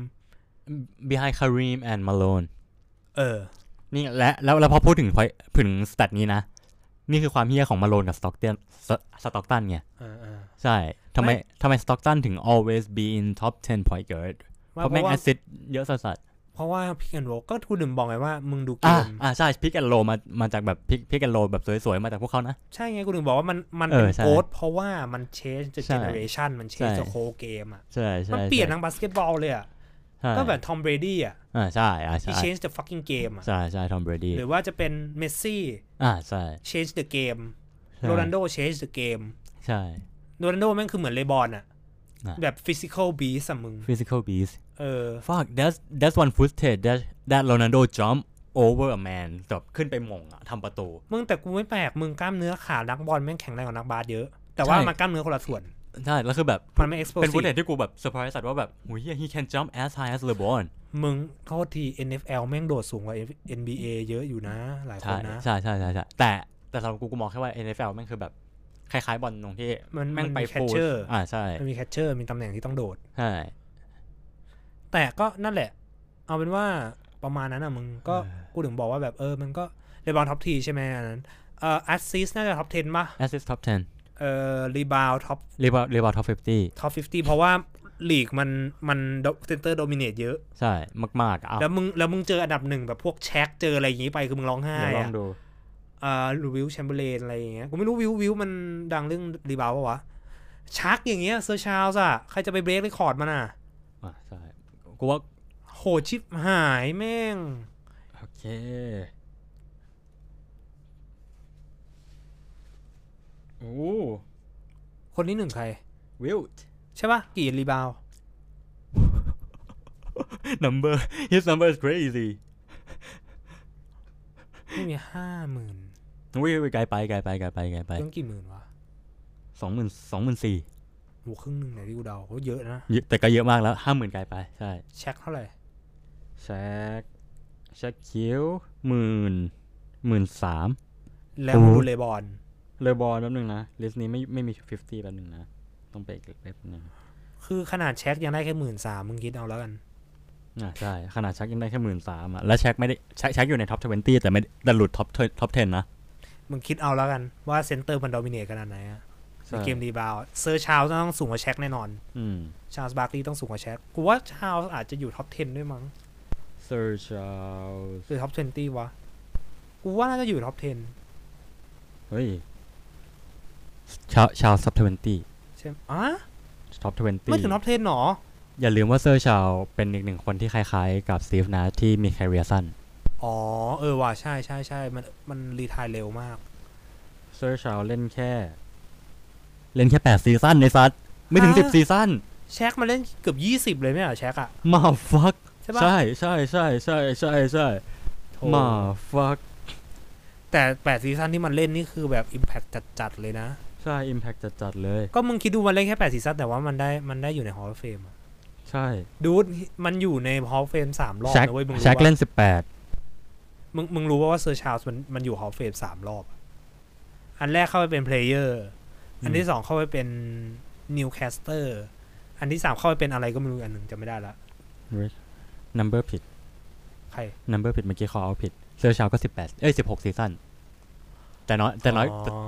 Kareem and Malone นี่แล้วพอพูดถึงสแตทนี้นะนี่คือความเหี้ยของมาโลนกับสต็อกตันไงใช่ทำไมสต็อกตันถึง always be in top 10 point guard เพราะแม่งแอสซิสต์เยอะสัสเพราะว่า pick and roll ก็กูดึงบอกไงว่ามึงดูเกมใช่ pick and roll มาจากแบบ pick and roll แบบสวยๆมาจากพวกเขานะใช่ไงกูดึงบอกว่ามันเป็นโค้ดเพราะว่ามัน change the generation มัน change the whole game อ่ะมันเปลี่ยนทั้งบาสเกตบอลเลยอ่ะก็แบบทอมเบรดี้อ่ะใช่ที่ change the fucking game อ่ะใช่ทอมเบรดี้หรือว่าจะเป็นเมสซี่ใช่ change the game โรนัลโด change the game ใช่โรนัลโดแม่งคือเหมือนเลบอนอ่ะแบบ physical beast อ่ะมึง physical beast fuck that's one footage that Ronaldo jump over a man แบบขึ้นไปมงอ่ะทำประตูมึงแต่กูไม่แปลกมึงกล้ามเนื้อขานักบอลแม่งแข็งแรงกว่านักบาสเยอะแต่ว่ามันกล้ามเนื้อคนละส่วนใช่แล้วคือแบบมันไม่ explosive เป็นฟุตเทจที่กูแบบเซอร์ไพรส์สัตว์ว่าแบบโหhe can jump as high as LeBron มึงโทษที NFL แม่งโดดสูงกว่า NBA เยอะอยู่นะหลายคนนะใช่แต่สำหรับกูมองแค่ว่า NFL แม่งคือแบบคล้ายๆบอลตรงที่แม่งไปแคชเชอร์ใช่มันมีแคชเชอร์มีตำแหน่งที่ต้องโดดใช่แต่ก็นั่นแหละเอาเป็นว่าประมาณนั้นอ่ะมึงก็กูถึงบอกว่าแบบมันก็เลบอนท็อป10ใช่ไหมอันนั้นแอสซิสน่าจะท็อป10ป่ะแอสซิสท็อป10 รีบาวท็อปท็อป 50เพราะว่าลีกมันเซนเตอร์โดมิเนตเยอะใช่มากๆแล้วมึงเจออันดับ1แบบพวกแช็คเจออะไรอย่างงี้ไปคือมึงร้องไห้ลองดูวิลแชมเบอร์เลนอะไรอย่างเงี้ยกูไม่รู้วิลมันดังเรื่องรีบาวป่ะวะชักอย่างเงี้ยเซอร์ชาลส์อ่ะใครจะไปเบรกเรคคอร์ดมันอ่ะใช่กูว่าโหชิบหายแม่งโอเคโอ้คนที่1ใครวิลใช่ป่ะกี่รีบาว his number is crazy ไม่มี 50,000 อุ้ยไกลไปต้องกี่หมื่นวะ 24,000 โหครึ่งนึงไหนที่กูเดาเยอะนะแต่ก็เยอะมากแล้ว 50,000 ไกลไปใช่แช็คเท่าไหร่แช็คคิว13,000 แล้วดูเลบอนแป๊บนึงนะลิสต์นี้ไม่มี50แป๊บนึงนะต้องไปอีกแป๊บนึงคือขนาดแช็คยังได้แค่ 13,000 มึงคิดเอาแล้วกันใช่ขนาดแช็คยังได้แค่ 13,000 อ่ะแล้วแช็คไม่ได้แช็คอยู่ในท็อป20แต่หลุดท็อป10นะมึงคิดเอาแล้วกันว่าเซนเตอร์มันโดมิเนตขนาดไหนอ่ะในเกมรีบาวเซอร์ชาลส์ต้องสูงกว่าแช็คแน่นอนชาลส์บาร์คลีย์ต้องสูงกว่าแช็คกูว่าชาลส์อาจจะอยู่ท็อป 10 ด้วยมั้งเซอร์ชาลส์หรือท็อป 20 วะกูว่าน่าจะอยู่ท็อป 10เฮ้ยชาลส์ท็อป 20 ใช่อ่ะท็อป 20 ไม่ถึงท็อป 10 หรออย่าลืมว่าเซอร์ชาลส์เป็นอีกหนึ่งคนที่คล้ายๆกับสตีฟนะที่มีแคเรียร์สั้นอ๋อว่ะใช่มันรีไทร์เร็วมากเซอร์ชาลส์เล่นแค่8ซีซั่นในซัดไม่ถึง10ซีซั่นแช็คมาเล่นเกือบ20เลยไม่เหรอแช็คอะมาฟักใช่มาฟักแต่8ซีซั่นที่มันเล่นนี่คือแบบ Impact จัดๆเลยนะใช่ Impact จัดๆเลยก็มึงคิดดูมันเล่นแค่8ซีซั่นแต่ว่ามันได้อยู่ใน Hall of Fame ใช่ดูมันอยู่ใน Hall of Fame 3 รอบนะเว้ยมึงรู้ว่าแช็คเล่น 18มึงรู้ว่าเซอร์ชาลส์มันอยู่ Hall of Fame 3 รอบอันแรกเข้าไปเป็น Player อันที่2เข้าไปเป็น Newcaster อันที่3เข้าไปเป็นอะไรก็ไม่รู้อันนึงจำไม่ได้ละ number ผิดใคร number ผิดเมื่อกี้เขาเอาผิดเซอร์ชาลก็16ซีซั่นแต่น้อย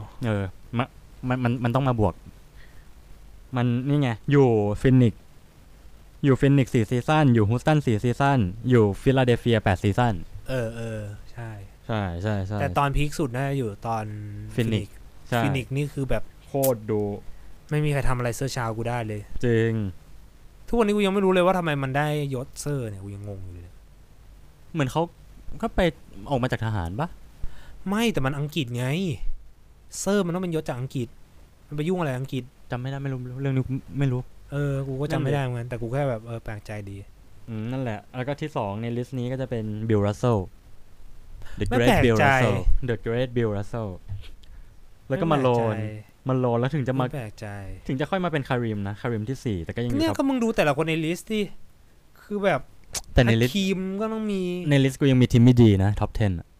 มันต้องมาบวกมันนี่ไงอยู่ฟินิก4ซีซั่นอยู่ฮูสตัน4ซีซั่นอยู่ฟิลาเดลเฟีย8ซีซั่นใช่แต่ตอนพีคสุดน่าจะอยู่ตอนฟินิกนี่คือแบบโคตรดูไม่มีใครทำอะไรเซอร์ชาลกูได้เลยจริงทุกวันนี้กูยังไม่รู้เลยว่าทำไมมันได้ยศเซอร์เนี่ยกูยังงงอยู่เลยเหมือนเขาก็ไปออกมาจากทหารปะไม่แต่มันอังกฤษไงเซอร์มันต้องเป็นยศจากอังกฤษมันไปยุ่งอะไรอังกฤษจำไม่ได้ไม่รู้เรื่องนี้ไม่รู้กูก็จำไม่ได้เหมือนกันแต่กูแค่แบบแปลกใจดีนั่นแหละแล้วก็ที่2ในลิสต์นี้ก็จะเป็นบิลรัสเซล The Great Bill Russell The Great Bill Russell แล้วก็มาโลนแล้วถึงจะมาแปลกใจถึงจะค่อยมาเป็นคาริมนะคาริมที่4แต่ก็ยังเนี่ยก็มึงดูแต่ละคนในลิสต์ที่คือแบบแต่ในลิสต์ทีมก็ต้องมีในลิสต์กูยังมีทีมไม่ดีนะท็อป 10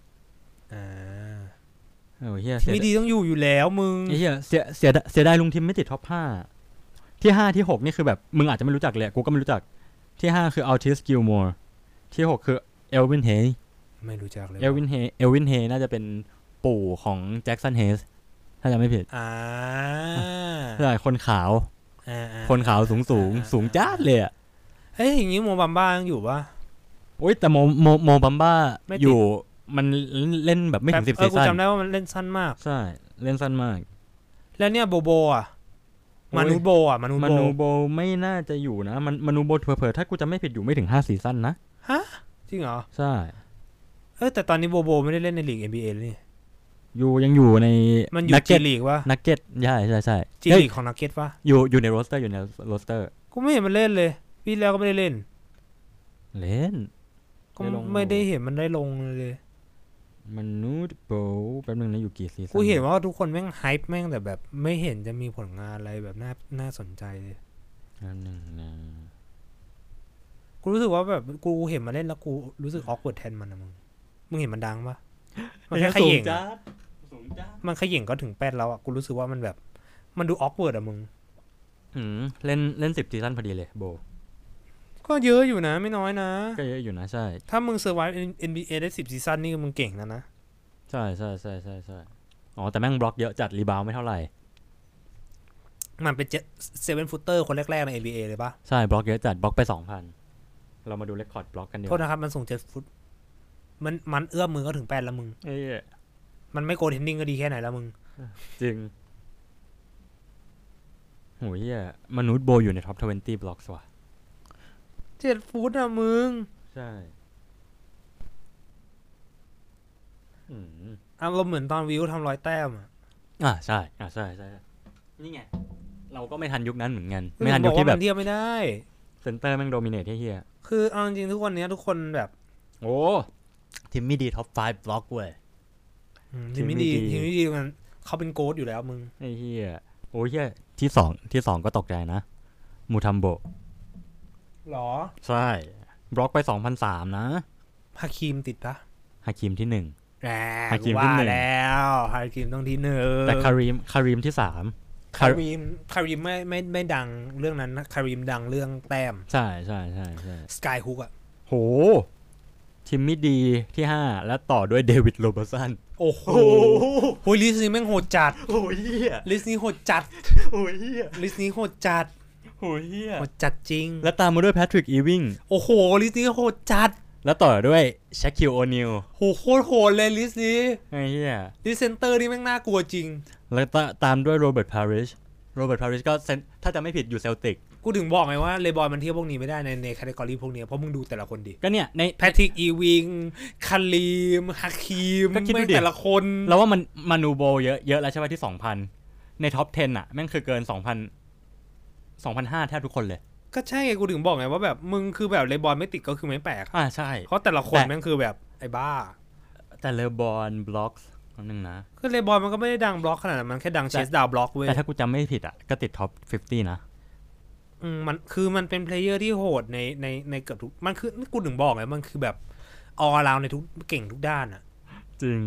เฮียไม่ดีต้องอยู่แล้วมึงเฮียเสียดายลุงทีมไม่ติดท็อป5ที่5ที่6นี่คือแบบมึงอาจจะไม่รู้จักเลยกูก็ไม่รู้จักที่5คืออัลติสกิลมัวร์ที่6คือเอลวินเฮย์ไม่รู้จักเลยเอลวินเฮย์น่าจะเป็นปู่ของแจ็คสันเฮสถ้าจำไม่ผิดใช่คนขาวสูงจ้าเลยอ่ะเฮ้ยอย่างงี้โมบัมบ้ายังอยู่ปะโอ๊ยแต่โมบัมบ้าอยู่มันเล่นแบบไม่ถึง10ซีซั่นกูจำได้ว่ามันเล่นสั้นมากใช่เล่นสั้นมากแล้วเนี่ยโบอ่ะมนุษย์โบไม่น่าจะอยู่นะมนุษย์โบเผลอๆถ้ากูจำไม่ผิดอยู่ไม่ถึง5ซีซั่นนะฮะจริงเหรอใช่แต่ตอนนี้โบไม่ได้เล่นในลีก NBA เลยนี่ยังอยู่ในมันอยู่จีลีกวะนักเก็ตใช่จีลีกของนักเก็ตวะอยู่ในโรสเตอร์กูไม่เห็นมันเล่นเลยปีแล้วก็ไม่ได้เล่นก็ไม่ได้เห็นมันได้ลงเลยมนุษย์โบแป๊บนึงนะอยู่กี่ซีซั่นกูเห็นว่าทุกคนแม่งไฮป์แม่งแต่แบบไม่เห็นจะมีผลงานอะไรแบบน่าสนใจเลยนึงนะกูรู้สึกว่าแบบกูเห็นมาเล่นแล้วกูรู้สึกออกเวิร์ดแทนมันนะมึงเห็นมันดังปะมันแค่ขย่งมันขย่งก็ถึง8แล้วอ่ะกูรู้สึกว่ามันแบบมันดูออกเวิร์ดอ่ะมึงเล่น10ซีซั่นพอดีเลยโบก็เยอะอยู่นะไม่น้อยนะก็เยอะอยู่นะใช่ถ้ามึงเซอร์ไวฟ์ NBA ได้10ซีซั่นนี่มึงเก่งแล้วนะใช่อ๋อแต่แม่งบล็อกเยอะจัดรีบาวไม่เท่าไหร่มันเป็น7 ฟุตเตอร์คนแรกๆใน NBA เลยปะใช่บล็อกเยอะจัดบล็อกไป 2,000 เรามาดูเรคคอร์ดบล็อกกันดีกว่าโทษนะครับมันส่ง7 ฟุตมันเอื้อมมือก็ถึง8แล้วมึงมันไม่โกลเทนนิ่งก็ดีแค่ไหนแล้วมึงจริงโหเหี้ยมนุษย์โบอยู่ในท็อป20บล็อกส์ว่ะ 7 ฟุตอ่ะมึงใช่เราเหมือนตอนวิวทำ100 แต้มใช่นี่ไงเราก็ไม่ทันยุคนั้นเหมือนกันไม่ทันยุคที่แบบเทียบไม่ได้เซนเตอร์แม่งโดมิเนตเฮียคือเอาจริงทุกวันนี้ทุกคนแบบโอ้ทีมไม่ดีท็อป5บล็อกเว้ยทีมไม่ดีมันเขาเป็นโกดอยู่แล้วมึงไอ้เฮียโอ้เฮียที่2ก็ตกใจนะมูทัมโบหรอใช่บล็อกไป 2003 นะฮาคิมติดปะฮาคิมที่1 ฮาคิมที่1แล้วฮาคิมต้องที่1 แต่คาริมที่3 คาริมไม่ดังเรื่องนั้นนะคาริมดังเรื่องแต้มใช่สกายฮุกอ่ะโหทีมมิดดีที่5แล้วต่อด้วยเดวิดโรเบอร์สันโอ้โอ้โหโหลิสต์นี้แม่งโหดจัดโอ้ยเหี้ยลิสต์นี้โหดจัดโอ้ยเหี้ยลิสต์นี้โหดจัดโอ้ยเหี้ยโหดจัดจริงแล้วตามมาด้วยแพทริกอีวิงโอ้โหลิสต์นี้โหดจัดแล้วต่อด้วยแชคคิลโอนิลโหโคตรโหดเลยลิสต์นี้ไอ้เหี้ยลิสต์เซนเตอร์นี่แม่งน่ากลัวจริงแล้วตามด้วยโรเบิร์ตพาริชก็ถ้าจะไม่ผิดอยู่เซลติกกูถึงบอกไงว่าเลบอนมันเทียบพวกนี้ไม่ได้ในแคตตากรีพวกนี้เพราะมึงดูแต่ละคนดิก็เนี่ยในแพทริกอีวิงคาลีมฮาคีมแม่งแต่ละคนแล้วว่ามันมานูโบเยอะแล้วใช่ป่ะที่ 2,000 ในท็อป 10 อ่ะแม่งคือเกิน 2,500 แทบทุกคนเลยก็ใช่ไงกูถึงบอกไงว่าแบบมึงคือแบบเลบอนไม่ติดก็คือไม่แปลกใช่เพราะแต่ละคนแม่งคือแบบไอ้บ้าแต่เลบอนบล็อกนึงนะคือเลบอนมันก็ไม่ได้ดังบล็อกขนาดนั้นมันแค่ดังเชสดาวบล็อกเว้ยแต่ถ้ากูจำไม่ผิดอ่ะก็ติดท็อป 50 นะมันเป็นเพลเยอร์ที่โหดในเกือบทุกมันคือกูถึงบอกไงมันคือแบบออลราวในทุกเก่งทุกด้านอ่ะจริง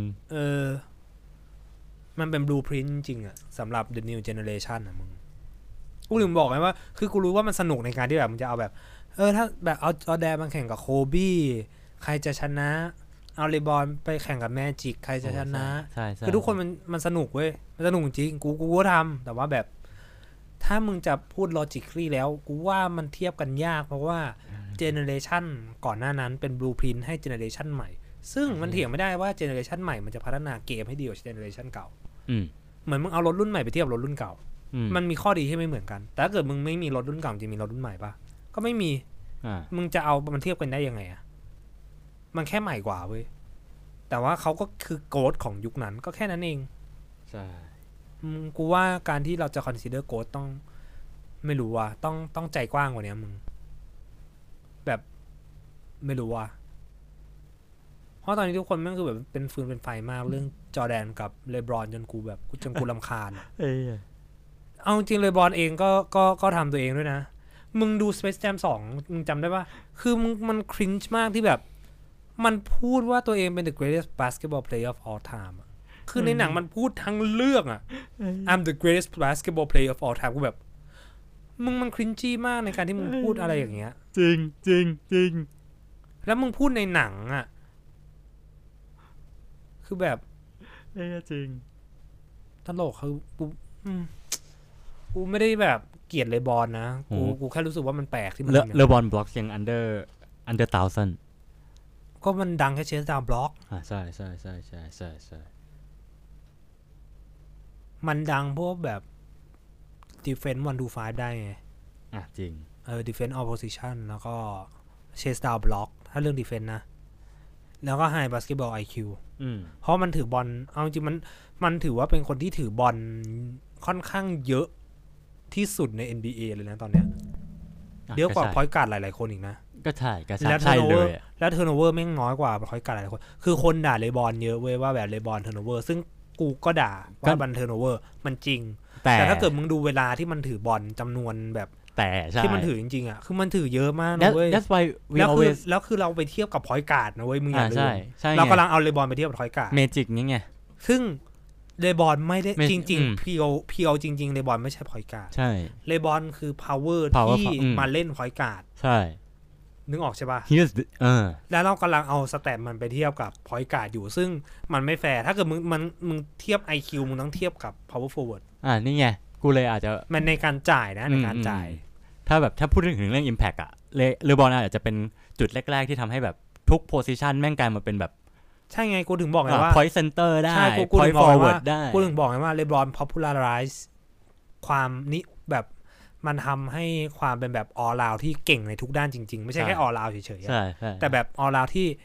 มันเป็นบลูพรินต์จริงอ่ะสำหรับ The New Generation อ่ะมึงกูถึงบอกไงว่าคือกูรู้ว่ามันสนุกในการที่แบบมันจะเอาแบบถ้าแบบเอาแดนมาแข่งกับโคบี้ใครจะชนะเอาเลบอนไปแข่งกับแมจิกใครจะชนะคือทุกคนมันสนุกเว้ยมันสนุกจริงกูก็ทำแต่ว่าแบบถ้ามึงจะพูด logically แล้วกูว่ามันเทียบกันยากเพราะว่าเจเนอเรชันก่อนหน้านั้นเป็นบลูพรินท์ให้เจเนอเรชันใหม่ซึ่งมันเถียงไม่ได้ว่าเจเนอเรชันใหม่มันจะพัฒนาเกมให้ดีกว่าเจเนอเรชันเก่าเหมือนมึงเอารถรุ่นใหม่ไปเทียบรถรุ่นเก่ามันมีข้อดีที่ไม่เหมือนกันแต่ถ้าเกิดมึงไม่มีรถรุ่นเก่าจะมีรถรุ่นใหม่ปะก็ไม่มีมึงจะเอามันเทียบกันได้ยังไงอ่ะมันแค่ใหม่กว่าเว้ยแต่ว่าเขาก็คือโกดของยุคนั้นก็แค่นั้นเองใช่กูว่าการที่เราจะ consider โกดต้องไม่รู้ว่าต้องใจกว้างกว่านี้มึงแบบไม่รู้ว่าเพราะตอนนี้ทุกคนแม่งคือแบบเป็นฟืนเป็นไฟมากเรื่องจอร์แดนกับเลบรอนจนกูรำคาญเอาจริงเลบรอนเองก็ทำตัวเองด้วยนะมึงดู Space Jam 2มึงจำได้ป่ะคือมันครินช์มากที่แบบมันพูดว่าตัวเองเป็น the greatest basketball player of all time คือในหนังมันพูดทั้งเรื่องอ่ะ I'm the greatest basketball player of all time กูแบบมึงมันครินจี้มากในการที่มึงพูดอะไรอย่างเงี้ยจริงจริงจริงแล้วมึงพูดในหนังอ่ะคือแบบจริงตลกคือกูไม่ได้แบบเกลียดเลบอนนะกูแค่รู้สึกว่ามันแปลกที่มันเลบอนบล็อกยัง under 1,000 ก็มันดังแค่เชสดาวบล็อกใช่ใช่ใช่ใช่ใช่ใช่มันดังพวกแบบdefense 1 to 5ได้ไงจริง defense all position แล้วก็ chase down block ถ้าเรื่อง defense นะแล้วก็ high basketball IQ เพราะมันถือบอลเอาจริงมันถือว่าเป็นคนที่ถือบอลค่อนข้างเยอะที่สุดใน NBA เลยนะตอนเนี้ยเยอะกว่า point guard หลายๆคนอีกนะก็ใช่ใช่เลยแล้ว turnover แม่งน้อยกว่า point guard หลายๆคนคือคนด่าเลบอนเยอะเว้ยว่าแบบเลบอน turnover ซึ่งกูก็ด่าว่าบันเทิร์นโอเวอร์มันจริงแต่ถ้าเกิดมึงดูเวลาที่มันถือบอลจำนวนแบบแต่ที่มันถือจริงๆอ่ะคือมันถือเยอะมากนะเว้ยแล้วคือเราไปเทียบกับพอยต์การ์ดนะเว้ยมึงอย่าลืมเรากำลังเอาเลบอนไปเทียบกับพอยต์การ์ดเมจิกนี่ไงซึ่งเลบอนไม่ได้จริงๆเพียวจริงๆเลบอนไม่ใช่พอยต์การ์ดใช่เลบอนคือพาวเวอร์ที่มาเล่นพอยต์การ์ดใช่นึกออกใช่ป่ะแล้วเรากำลังเอาสแตทมันไปเทียบกับพอยต์การ์ดอยู่ซึ่งมันไม่แฟร์ถ้าเกิดมึงเทียบ IQ มึงต้องเทียบกับ power forward นี่ไงกูเลยอาจจะมันในการจ่ายนะในการจ่ายถ้าพูดถึงเรื่อง impact อ่ะเลบอนอาจจะเป็นจุดแรกๆที่ทำให้แบบทุก position แม่งกลายมาเป็นแบบใช่ไงกูถึงบอกไงว่า point center ได้ point forward ได้กูถึงบอกไงว่าเลบอน popularize ความนี้แบบมันทำให้ความเป็นแบบ all round ที่เก่งในทุกด้านจริงๆไม่ใช่แค่ all round เฉยๆแต่แบบ all round ที่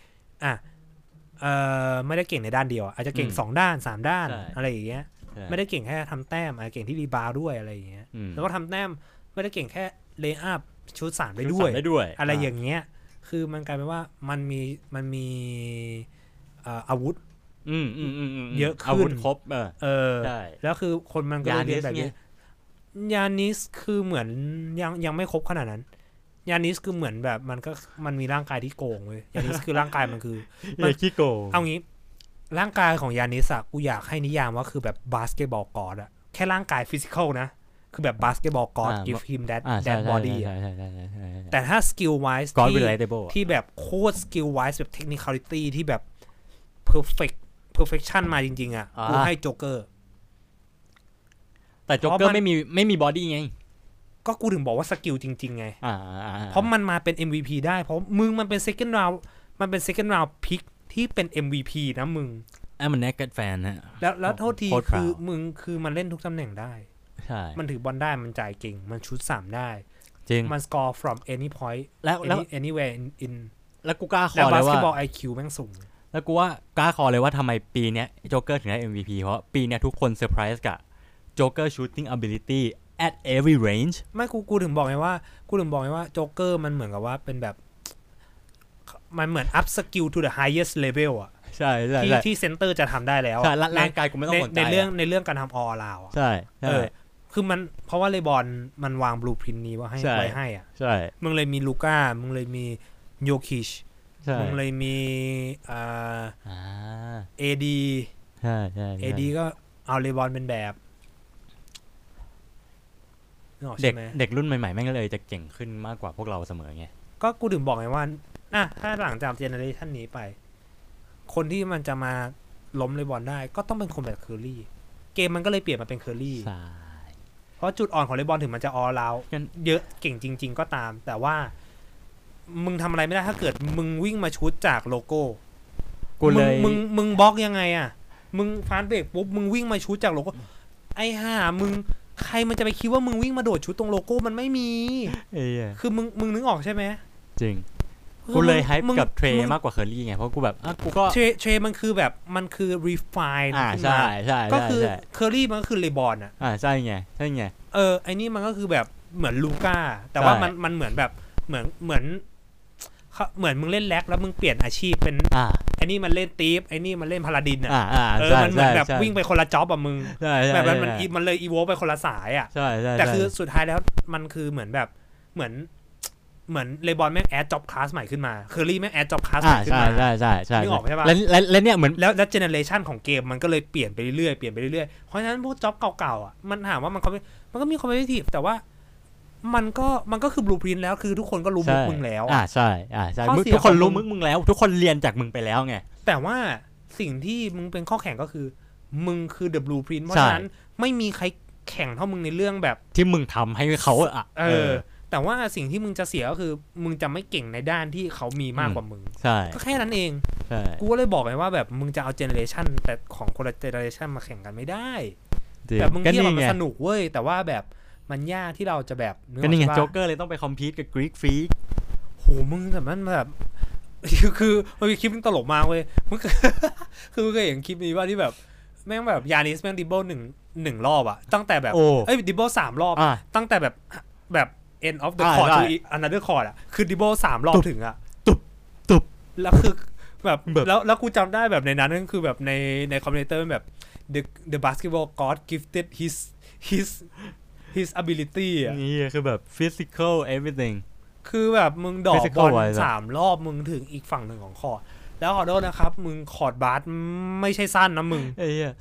ไม่ได้เก่งในด้านเดียวอาจจะเก่ง2ด้าน3ด้านอะไรอย่างเงี้ยไม่ได้เก่งแค่ทำแต้มอาจจะเก่งที่รีบาวด์ด้วยอะไรอย่างเงี้ยแล้วก็ทำแต้มไม่ได้เก่งแค่เลย์อัพชุด3ได้ด้วยอะไรอย่างเงี้ยคือมันกลายเป็นว่ามันมีอาวุธเยอะขึ้นอาวุธครบแล้วคือคนมันก็เรียนแบบนี้ยานิสคือเหมือนยังไม่ครบขนาดนั้นยานิสคือเหมือนแบบมันมีร่างกายที่โกงเว้ยยานิสคือร่างกายมันคือมันขี้โกงเอางี้ร่างกายของยานิสอะกูอยากให้นิยามว่าคือแบบบาสเกตบอลกอดอะแค่ร่างกายฟิสิกอลนะคือแบบบาสเกตบอลกอด give him that body แต่ถ้า skill wise ที่แบบโคตร skill wise แบบ technicality ที่แบบ perfect perfection มาจริงๆอ่ะกูให้โจ๊กเกอร์แต่โจ๊กเกอร์ไม่มีบอดี้ไงก็กูถึงบอกว่าสกิลจริงๆไงเพราะมันมาเป็น MVP ได้เพราะมึงมันเป็น second round pick ที่เป็น MVP นะมึงมันแนกเก็ตแฟนนะแล้วโทษทีคือมึงคือมันเล่นทุกตำแหน่งได้ใช่มันถือบอลได้มันจ่ายเก่งมันชุด3ได้จริงมัน score from any point แล้ว anywhere in แล้วกูกล้าขอเลยว่า basketball IQ แม่งสูงแล้วกูว่ากล้าขอเลยว่าทำไมปีนี้โจ๊กเกอร์ถึงได้ MVP เพราะปีนี้ทุกคนเซอร์ไพรส์กับโจ๊กเกอร์ shooting ability at every range ไม่กูถึงบอกไงว่าโจ๊กเกอร์มันเหมือนกับว่าเป็นแบบมันเหมือน up skill to the highest level อ่ะใช่ที่เซนเตอร์จะทำได้แล้วร่างกายกูไม่ต้องสนใจในเรื่องการทำ all around ใช่คือมันเพราะว่าเลบอนมันวางบลูพรินท์นี้ว่าให้ไว้ให้อ่ะใช่มึงเลยมีลูก้ามึงเลยมีโยคิชมึงเลยมีเอดีใช่เอดีก็เอาเลบอนเป็นแบบเด็กรุ่นใหม่ๆแม่งเลยจะเก่งขึ้นมากกว่าพวกเราเสมอไงก็กูถึงบอกไงว่าถ้าหลังจากเจเนอเรชันนี้ไปคนที่มันจะมาล้มเลบอนได้ก็ต้องเป็นคนแบบเคอร์รี่เกมมันก็เลยเปลี่ยนมาเป็นเคอร์รี่เพราะจุดอ่อนของเลบอนถึงมันจะออลราวเยอะเก่งจริงๆก็ตามแต่ว่ามึงทำอะไรไม่ได้ถ้าเกิดมึงวิ่งมาชุดจากโลโก้มึงบล็อกยังไงอ่ะมึงฟาสต์เบรกปุ๊บมึงวิ่งมาชุดจากโลโก้ไอ้ห่ามึงใครมันจะไปคิดว่ามึงวิ่งมาโดดชุดตรงโลโก้มันไม่มีคือมึงนึกออกใช่ไหมจริงกูเลยไฮป์กับเทรมากกว่าเคอร์รี่ไงเพราะกูแบบกูก็เทรมันคือแบบมันคือ refine ใช่ก็คือเคอร์รี่มันก็คือเลบอนอ่ะใช่ไงไอ้นี่มันก็คือแบบเหมือนลูก้าแต่ว่ามันเหมือนแบบเหมือนมึงเล่นแล็กแล้วมึงเปลี่ยนอาชีพเป็นไอ้นี่มันเล่นตีฟไอ้นี่มันเล่นพาลาดินอ่ะมันเหมือนแบบวิ่งไปคนละจ็อบอ่ะมึงแบบมันเลยอีโวไปคนละสายอ่ะแต่คือสุดท้ายแล้วมันคือเหมือนแบบเหมือนเลบอนแม่งแอดจ็อบคลาสใหม่ขึ้นมาเคอร์รี่แม่งแอดจ็อบคลาสใหม่ขึ้นมาใช่นึกออกใช่ป่ะแล้วเนี่ยเหมือนแล้วเจเนอเรชันของเกมมันก็เลยเปลี่ยนไปเรื่อยเพราะฉะนั้นพวกจ็อบเก่าๆอ่ะมันถามว่ามันก็มีคอมเพทิทีฟแต่ว่ามันก็คือบลูพรินท์แล้วคือทุกคนก็รู้มุกมึงแล้วใช่ทุกคนรู้มึงแล้วทุกคนเรียนจากมึงไปแล้วไงแต่ว่าสิ่งที่มึงเป็นข้อแข่งก็คือมึงคือเดอะบลูพรินท์เพราะฉะนั้นไม่มีใครแข่งเท่ามึงในเรื่องแบบที่มึงทำให้เขาแต่ว่าสิ่งที่มึงจะเสียก็คือมึงจะไม่เก่งในด้านที่เขามีมากกว่ามึงก็แค่นั้นเองกูก็เลยบอกไงว่าแบบมึงจะเอาเจเนอเรชันแต่ของคนละเจเนอเรชันมาแข่งกันไม่ได้แต่มึงเทียบมันสนุกเว้ยแต่ว่าแบบมันยากที่เราจะแบบก็นี่ไงโจ๊กเกอร์เลยต้องไปคอมพีทกับกรีกฟรีกโหมึงแต่มันแบบคือมันมีคลิปนึงตลกมากเว้ยมึงคือมึงเคยเห็นคลิปนี้ว่าที่แบบแม่งแบบยานิสแม่งดิบเบิลหนึ่งรอบอะตั้งแต่แบบดิบเบิล3 รอบตั้งแต่แบบ end of the court to another court อะคือดิบเบิล3 รอบถึงอะตุบแล้วคือแบบแล้วกูจำได้แบบในนั้นนั่นคือแบบในคอมเมนเตอร์แบบ the basketball god gifted his ability อ่ะนี่คือแบบ physical everything คือแบบมึงดอกบอล3 รอบมึงถึงอีกฝั่งหนึ่งของคอร์ตแล้วขอโทษนะครับมึงคอร์ตบาสไม่ใช่สั้นนะมึง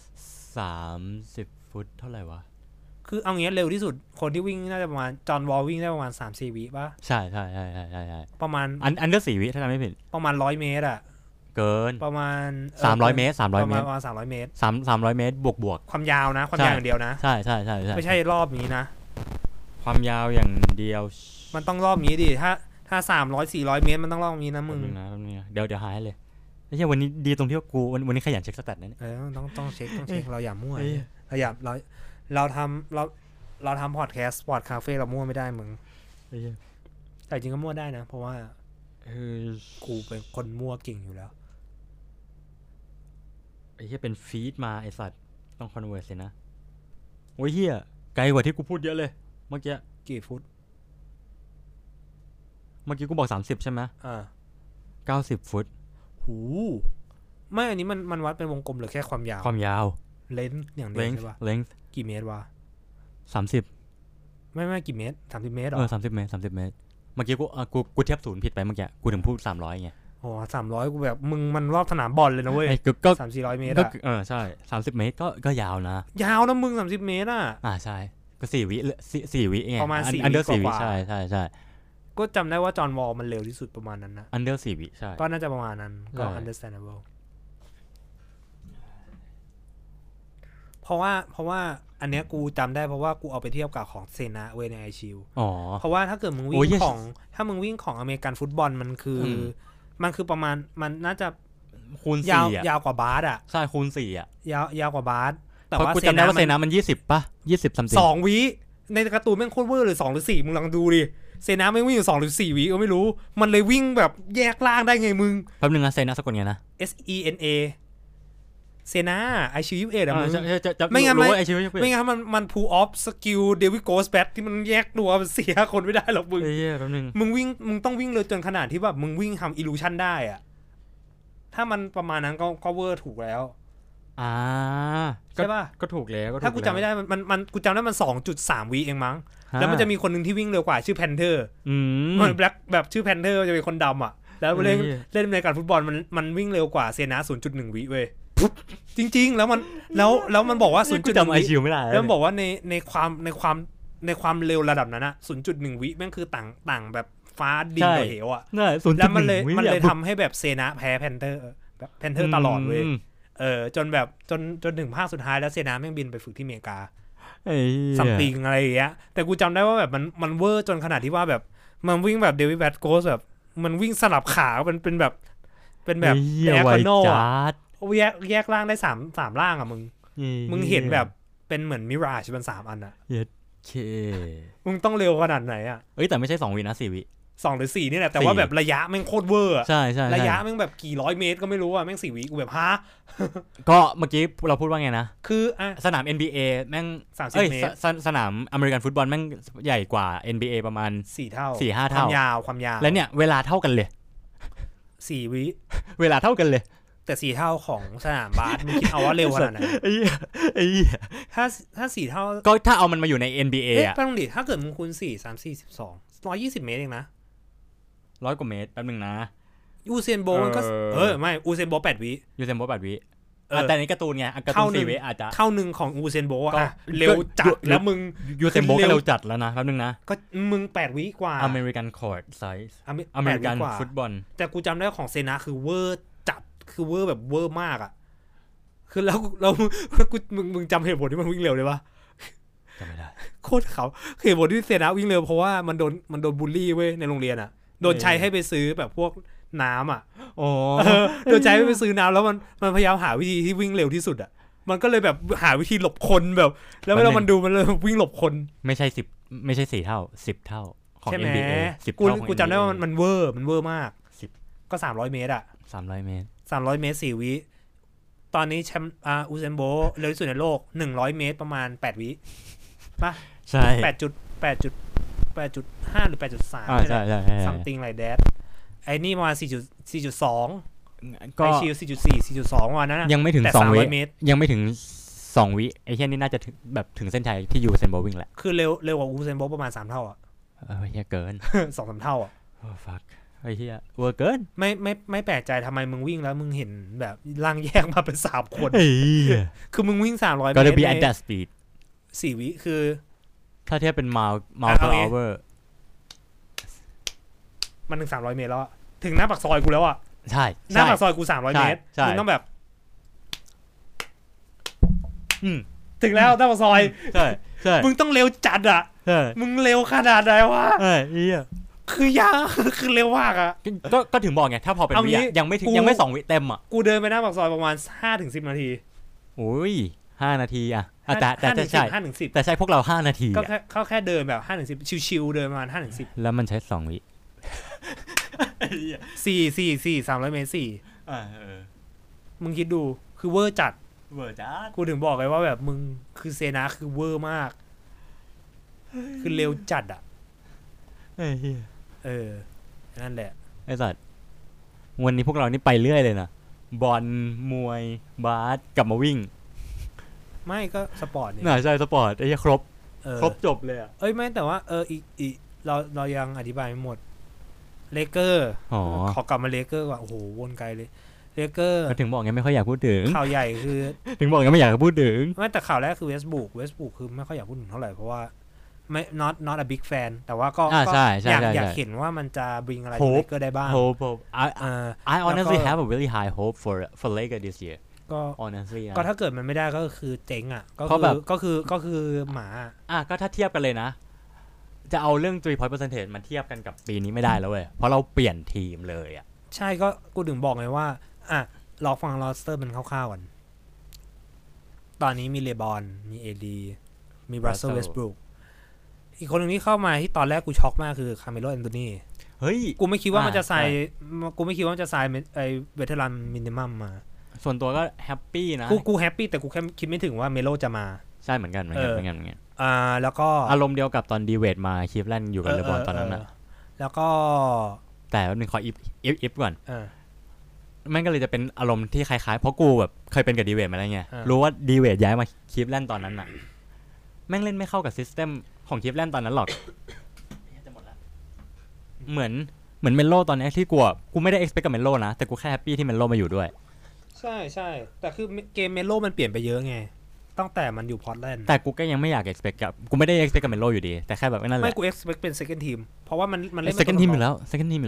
30 ฟุตเท่าไหร่วะคือเอางี้เร็วที่สุดคนที่วิ่งน่าจะประมาณจอห์นวอลวิ่งได้ประมาณ 3-4 วิป่ะใช่ประมาณอันเดอร์4 วิถ้าจำไม่ผิดประมาณ100 เมตรอ่ะเกินประมาณ 300 เมตรประมาณ300 เมตร 300 เมตรบวกความยาวนะความยาวอย่างเดียวนะใช่ไม่ใช่รอบนี้นะความยาวอย่างเดียวมันต้องรอบนี้ดิถ้า300-400 เมตรมันต้องรอบนี้นะมึงเดี๋ยวหายเลยไม่ใช่วันนี้ดีตรงที่ว่ากูวันนี้ขยันเช็คสแตทนะเนี่ยต้องเช็คเราอย่ามั่วเราทำพอดแคสต์สปอร์ตคาเฟ่เรามั่วไม่ได้มึงแต่จริงก็มั่วได้นะเพราะว่ากูเป็นคนมั่วเก่งอยู่แล้วไอ้เหี้ยเป็นฟีดมาไอ้สัตว์ต้องคอนเวิร์สเลยนะโอ้ยเหี้ยไกลกว่าที่กูพูดเยอะเลยเมื่อกี้กี่ฟุตเมื่อกี้กูบอก30ใช่ไหม90 ฟุตหูไม่อันนี้มันวัดเป็นวงกลมหรือแค่ความยาวเลนส์อย่างเดียวใช่ป่ะเลนส์กี่เมตรวะ 30 ไม่กี่เมตร30 เมตรหรอ30 เมตรเมื่อกี้กูเทียบศูนย์ผิดไปเมื่อกี้กูถึงพูด300ไงโอ้300กูแบบมึงมันรอบสนามบอลเลยนะเว้ยก็ 300-400 เมตรอ่ะใช่30 เมตรก็ยาวนะยาวนะมึง30 เมตรอ่ะใช่ก็4 วิไงประมาณ4 อันเดอร์4 วิใช่ก็จำได้ว่าจอห์นวอลมันเร็วที่สุดประมาณนั้นนะอันเดอร์4 วิใช่ก็น่าจะประมาณนั้นก็ understandable ราะว่าอันเนี้ยกูจำได้เพราะว่ากูเอาไปเทียบกับของเซนะเวในไอชิลเพราะว่าถ้าเกิดมึงวิ่งของถ้ามึงวิ่งของอเมริกันฟุตบอลมันคือประมาณมันน่าจะคูณ4 ยาวกว่าบาสอ่ะใช่คูณ4อ่ะยาวกว่าบาสแต่ว่ากูจำได้ว่าเซนะมัน20ป่ะ20ซัมติง 2วิในการ์ตูนแม่งโคตรเวอร์เลย2หรือ4มึงลองดูดิเซนะไม่วิ่งอยู่2หรือ4วิก็ไม่รู้มันเลยวิ่งแบบแยกล่างได้ไงมึงแป๊บนึงนะเซนะสะกดไงนะ SENA เซนะไอชิว21อ่ะมึงไม่งั้นมันพูลออฟสกิลเดวิดโกสแบทที่มันแยกตัวเสียคนไม่ได้หรอกมึงแป๊บนึงมึงต้องวิ่งเลยจนขนาดที่แบบมึงวิ่งทำอิลูชันได้อ่ะถ้ามันประมาณนั้นก็เวอร์ถูกแล้วใช่ป่ะก็ถูกแล้วถ้ากูจำไม่ได้มันกูจำได้มัน 2.3 วิเองมั้งแล้วมันจะมีคนนึงที่วิ่งเร็วกว่าชื่อแพนเทอร์มันแบล็คแบบชื่อแพนเทอร์จะเป็นคนดำอ่ะแล้วเล่นในการฟุตบอลมันวิ่งเร็วกว่าเซนะ 0.1 วิเว้ยจริงๆแล้วมันบอกว่า 0.1 วิแล้วมันบอกว่าในความเร็วระดับนั้นอ่ะ 0.1 วิแม่งคือต่างแบบฟ้าดินกับเหวอ่ะแล้วมันเลยทำให้แบบเซนะแพ้แพนเทอร์ตลอดเว้ยจนแบบจนถึงภาคสุดท้ายแล้วเซนาแม่งบินไปฝึกที่อเมริกาซัมติงอะไรอย่างเงี้ยแต่กูจำได้ว่าแบบมันเวอร์จนขนาดที่ว่าแบบมันวิ่งแบบเดวิดแบทโกสแบบมันวิ่งสลับขาเป็นแบบแอคโนอ่ะแยกร่างได้3ร่างอ่ะมึงเห็นแบบเป็นเหมือนมิราชเป็น3อันอ่ะมึงต้องเร็วขนาดไหนอ่ะแต่ไม่ใช่2วินะ4วิ 2หรือ4นี่แหละแต่ว่าแบบระยะแม่งโคตรเวอร์อ่ะใช่ระยะแม่งแบบกี่ร้อยเมตรก็ไม่รู้อ่ะแม่ง4วิกูแบบฮะก็เมื่อกี้เราพูดว่าไงนะคือสนาม NBA แม่ง 30 เมตรสนามอเมริกันฟุตบอลแม่งใหญ่กว่า NBA ประมาณ 4 เท่า 4-5 เท่าความยาวแล้วเนี่ยเวลาเท่ากันเลย 4 วิเวลาเท่ากันเลยแต่4 เท่าของสนามบาสมึงคิดเอาว่าเร็วขนาดไหนถ้า4 เท่าก็ถ้าเอามันมาอยู่ใน NBA อ่ะต้องดิถ้าเกิดมึงคูณ4 3 4 12 120 เมตรเองนะ 100 กว่าเมตรแป๊บนึงนะอูเซนโบมันก็ไม่อูเซนโบ8 วิอูเซนโบ8 วิแต่ในการ์ตูนไงการ์ตูน4 วิอาจจะเท่านึงของอูเซนโบอ่ะเร็วจัดแล้วมึงอูเซนโบก็เร็วจัดแล้วนะแป๊บนึงนะก็มึง8 วิกว่าอเมริกันคอร์ตไซส์อเมริกันฟุตบอลแต่กูจำได้ของเซนะคือเวอร์จัดคือเวอร์แบบเวอร์มากอ่ะคือแล้วกูมึงจำเหตุผลที่มันวิ่งเร็วได้ปะจำไม่ได้โคตรเขาเหตุผลที่เซนะวิ่งเร็วเพราะว่ามันโดนบูลลี่เว้ยในโรงเรียนอ่ะโดนใช้ให้ไปซื้อแบบพวกน้ำอ่ะโดนใช้ให้ไปซื้อน้ำแล้วมันพยายามหาวิธีที่วิ่งเร็วที่สุดอ่ะมันก็เลยแบบหาวิธีหลบคนแบบแล้วเวลามันดูมันเลยวิ่งหลบคนไม่ใช่4 เท่า10 เท่าของ NBA 10 เท่ากูจำได้ว่ามันเวอร์มากก็300 เมตรอ่ะ 300 เมตร 4 วิตอนนี้แชมป์อูเซนโบเร็วที่สุดในโลก100 เมตรประมาณ8 วิป่ะใช่ 8.5 หรือ 8.3 ใช่ๆ something like that ไอ้นี่ประมาณ 4.2 ก็ไอชิล 4.4 4.2 วันนั้นยังไม่ถึง2 วิยังไม่ถึง2 วิไอ้แค่นี้น่าจะถึงเส้นชัยที่ยูเซนโบวิ่งแหละคือเร็วกว่าอูเซนโบประมาณ3 เท่าอ่ะเหี้ยเกิน 2-3 เท่าอ่ะ fuck ไอ้เหี้ยเวอร์เกินไม่แปลกใจทำไมมึงวิ่งแล้วมึงเห็นแบบร่างแยกมาเป็น3 คนคือมึงวิ่ง300 เมตร gotta be at that speed 4 วิคือถ้าเทียบเป็น mile per hour มันถึง300 เมตรแล้วถึงหน้าปากซอยกูแล้วอ่ะใช่หน้าปากซอยกู300 เมตรมึงต้องแบบถึงแล้วหน้าปากซอยใช่มึงต้องเร็วจัดอ่ะมึงเร็วขนาดไหนวะคือยากคือเร็วมากอ่ะก็ถึงบอกไงถ้าพอเป็นวิยังไม่2 วิเต็มอ่ะกูเดินไปหน้าปากซอยประมาณ 5-10 นาทีโอ้ย5 นาทีอ่ะแต่ใช่ 5-10 แต่ใช่พวกเรา5 นาทีก็แค่เดินแบบ5-10ชิวๆเดินประมาณ 5-10 แล้วมันใช้2 วิ 4 300 เมตร4มึงคิดดูคือเวอร์จัดกูถึงบอกเลยว่าแบบมึงคือเซนะคือเวอร์มากคือเร็วจัดอ่ะนั่นแหละไอ้สัตว์วันนี้พวกเรานี่ไปเรื่อยเลยนะบอลมวยบาสกลับมาวิ่งไม่ก็สปอร์ตนี่ใช่สปอร์ตไอ้ครบจบเลยอ่ะไม่แต่ว่าอีกเรายังอธิบายไม่หมดเลเกอร์ขอกลับมาเลเกอร์ก่อนโอ้โหวนไกลเลยเลเกอร์ถึงบอกไงไม่ค่อยอยากพูดถึงข่าวใหญ่คือถึงบอกไงไม่อยากพูดถึงไม่แต่ข่าวแรกคือเวสต์บรูคคือไม่ค่อยอยากพูดถึงเท่าไหร่เพราะว่าไม่ not a big fan แต่ว่าก็อยากเห็นว่ามันจะ bring อะไรเลเกอร์ได้บ้าง I honestly have a really high hope for Lakers this year ก็ honestly ก็ถ้าเกิดมันไม่ได้ก็คือเจ๊งอ่ะก็คือหมาก็ถ้าเทียบกันเลยนะจะเอาเรื่อง 3 point percentage มาเทียบกันกับปีนี้ไม่ได้แล้วเว้ยเพราะเราเปลี่ยนทีมเลยอ่ะใช่ก็กูถึงบอกไงว่าลองฟังโรสเตอร์มันคร่าวๆก่อนตอนนี้มีเลบอนมีเอดีมีรัสเซล เวสต์บรูคอีกคนหนึ่งที่เข้ามาที่ตอนแรกกูช็อกมากคือคาร์เมโล แอนโทนีเฮ้ยกูไม่คิดว่ามันจะใส่ไอ้เวเทอรันมินิมัมมาส่วนตัวก็แฮปปี้นะกูแฮปปี้แต่กูแค่คิดไม่ถึงว่าเมโลจะมาใช่เหมือนกันแล้วก็อารมณ์เดียวกับตอนดีเวดมาคลิฟแลนด์อยู่กับเลบอนตอนนั้นนะแล้วก็แต่หนึ่งขออิฟก่อนมันก็เลยจะเป็นอารมณ์ที่คล้ายๆเพราะกูแบบเคยเป็นกับดีเวดมาแล้วไงรู้ว่าดีเวดย้ายมาคลิฟแลนด์ตอนนั้นน่ะแม่งเล่นไม่เข้ากับซิสเต็มของคลิฟแลนด์ตอนนั้นหรอกเหมือนเมโลตอนนี้ที่กูไม่ได้ expect กับเมโลนะแต่กูแค่แฮปปี้ที่เมโลมาอยู่ด้วยใช่แต่คือเกมเมโลมันเปลี่ยนไปเยอะไงตั้งแต่มันอยู่พอร์ตแลนด์แต่กูก็ยังไม่อยาก expect กับกูไม่ได้ expect กับเมโลอยู่ดีแต่แค่แบบนั่นแหละไม่กู expect เป็น second team เพราะว่ามันเล่น second team อยู่แล้ว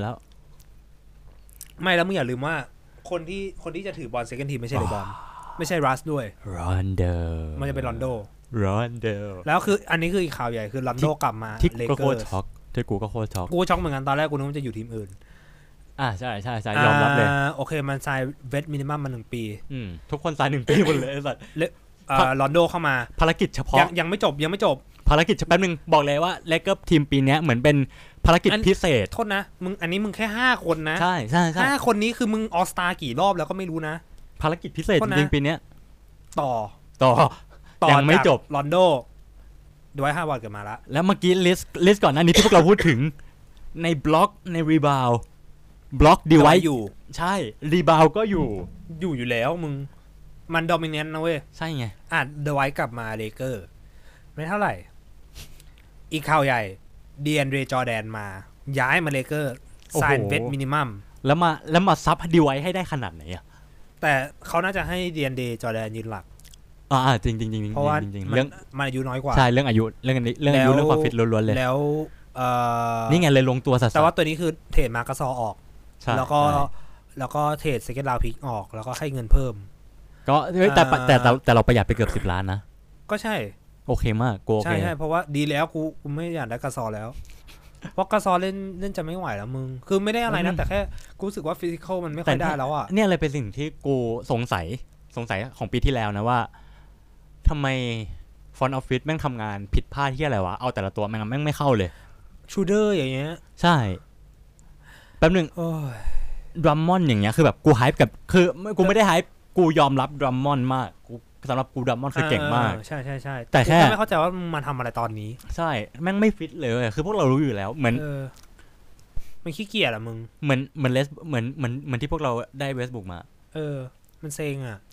ไม่แล้วมึงอย่าลืมว่าคนที่จะถือบอล second team ไม่ใช่เลบอนไม่ใช่รัสด้วยรอนโดมันจะเป็นรอนโดแล้วคืออันนี้คืออีกข่าวใหญ่คือรอนโดกลับมาเลเกอร์ที่กูก็โคตรช็อกเหมือนกันตอนแรกกูนึกว่าจะอยู่ทีมอื่นใช่ยอมรับเลยโอเคมันไซน์เวทมินิมัมมา1ปีทุกคนไซน์1ปีหมดเลยไอ้สัตว์รอนโดเข้ามาภารกิจเฉพาะยังไม่จบภารกิจแป๊บนึงบอกเลยว่าเลเกอร์ทีมปีนี้เหมือนเป็นภารกิจพิเศษโทษนะมึงอันนี้มึงแค่5คนนะใช่ 5คนนี้คือมึงออสตากี่รอบแล้วก็ไม่รู้นะภารกิจพิเศษจริงๆปีนี้ต่อยังไม่จบรอนโดด้วย5 วันเกิดมาแล้วเมื่อกี้ลิสต์ก่อนหน้านี้ที่พวกเราพูดถึงในบล็อกในรีบาวบล็อกดีไว้อยู่ใช่รีบาวก็อยู่แล้วมึงมันดอมิเนนต์นะเว้ยใช่ไงเดไว้กลับมาเลเกอร์ไม่เท่าไหร่อีกข่าวใหญ่ดีแอนเดรจอร์แดนมาย้ายมาเลเกอร์ไซน์เวทมินิมัมแล้วมาซับดีไว้ให้ได้ขนาดไหนอะแต่เขาน่าจะให้ดีแอนเดรจอร์แดนยืนหลักจริงเพราะว่าเรื่องมันอายุน้อยกว่าใช่เรื่องอายุเรื่องความฟิตล้วนๆเลยแล้วนี่ไงเลยลงตัวสัสแต่ว่าตัวนี้คือเทรดมาร์กัสซอออกแล้วก็เทรดเซคันด์ราวด์พิกออกแล้วก็ให้เงินเพิ่มก็แต่เราประหยัดไปเกือบ10 ล้านนะก็ใช่โอเคมากกูโอเคใช่เพราะว่าดีแล้วกูไม่อยากได้กัสซอแล้วเพราะกัสซอเล่นจะไม่ไหวแล้วมึงคือไม่ได้อะไรนะแต่แค่กูรู้สึกว่าฟิสิคอลมันไม่ค่อยได้แล้วอ่ะเนี่ยเลยเป็นสิ่งที่กูสงสัยของปีที่แล้วนะว่าทำไมฟอนต์ออฟฟิศแม่งทำงานผิดพลาดที่อะไรวะเอาแต่ละตัวแม่งไม่เข้าเลยชูเดอร์อย่างเงี้ยใช่แป๊บนึงดรัมมอนอย่างเงี้ยคือแบบกูไฮป์กับคือกูไม่ได้ไฮป์กูยอมรับดรัมมอนมากกูสำหรับกูดรัมมอนคือเก่งมากใช่แต่แค่ไม่เข้าใจว่ามาทำอะไรตอนนี้ใช่แม่งไม่ฟิตเลยคือพวกเรารู้อยู่แล้วเหมือนมันขี้เกียจอะมึงเหมือนที่พวกเราได้เวสบุกมามันเซ็งอะ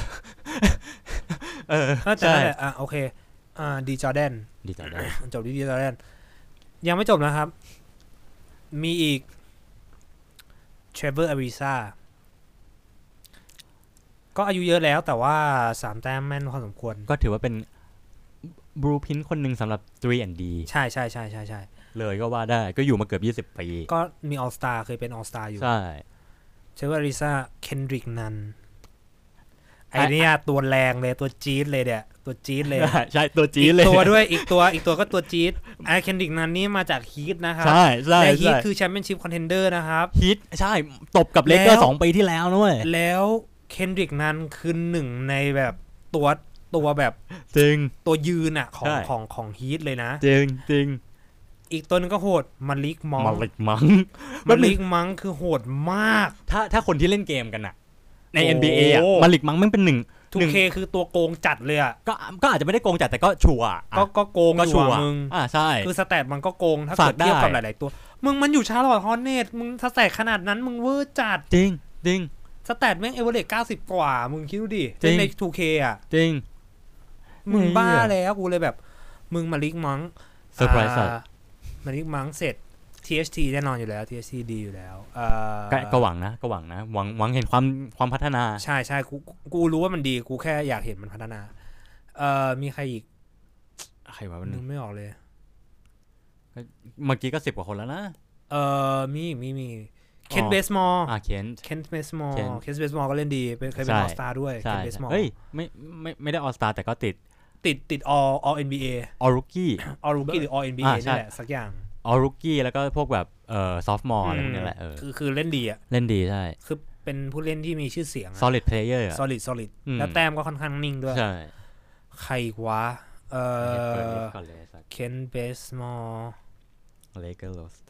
ใช่โอเคดีจอร์แดนจบดีจอร์แดนยังไม่จบนะครับมีอีกเทรเวอร์อาริซาก็อายุเยอะแล้วแต่ว่า3 แต้มแม่นพอสมควรก็ถือว่าเป็นบลูพินคนหนึ่งสำหรับ 3&D ใช่เลยก็ว่าได้ก็อยู่มาเกือบ20 ปีก็มีออลสตาร์เคยเป็นออลสตาร์อยู่ใช่เทรเวอร์อาริซาเคนดริกนันไอเนี่ยตัวแรงเลยตัวจี๊ดเลยเนี่ยตัวจี๊ดเลยใช่ตัวจี๊ดเลยตัวด้วยอีกตัวก็ตัวจี๊ดไอเคนดริกนันนี่มาจากฮีทนะครับใช่และฮีทคือแชมเปี้ยนชิพคอนเทนเดอร์นะครับฮีทใช่ตบกับเลเกอร์2 ปีที่แล้วนะเว้ยแล้วเคนดริกนันคือหนึ่งในแบบตัวแบบจริงตัวยืนอ่ะของฮีทเลยนะจริงอีกตัวนึงก็โหดมาลิกมังคือโหดมากถ้าคนที่เล่นเกมกันอ่ะใน NBA อ่ะมาลิกมังมันเป็น 2K คือตัวโกงจัดเลยอ่ะก็อาจจะไม่ได้โกงจัดแต่ก็ชัวร์ก็โกงอยู่มึงใช่คือสแตทมันก็โกงถ้าเกิดเทียบกับหลายๆตัวมึงมันอยู่ชาร์ลอตต์ฮอร์เนตมึงสแตทขนาดนั้นมึงเวอร์จัดจริงสแตทแม่งเอเวอเรจ90 กว่ามึงคิดดูดิใน 2K อ่ะจริงมึงบ้าแล้วกูเลยแบบมึงมาลิกมังเซอร์ไพรส์มาลิกมังเสร็จ THT แน่นอนอยู่แล้ว THT ดีอยู่แล้วก็หวังนะหวังเห็นความพัฒนาใช่กูรู้ว่ามันดีกูแค่อยากเห็นมันพัฒนามีใครอีกใครวะนึกไม่ออกเลยเมื่อกี้ก็10 กว่าคนแล้วนะมีเคนเบสมอลเคนเบสมอลก็เล่นดีเคยเป็นออลสตาร์ด้วยเคนเบสมอลเฮ้ยไม่ได้ออลสตาร์แต่ก็ติด all NBA all rookie หรือ all NBA นี่แหละสักอย่าง all rookie แล้วก็พวกแบบsophomore อะไรพวกนี้แหละคือเล่นดีเล่นดีใช่คือเป็นผู้เล่นที่มีชื่อเสียง solid player solid แล้วแต้มก็ค่อนข้างนิ่งด้วยใช่ใครวะเคนเบสมอลเลเกอร์โรส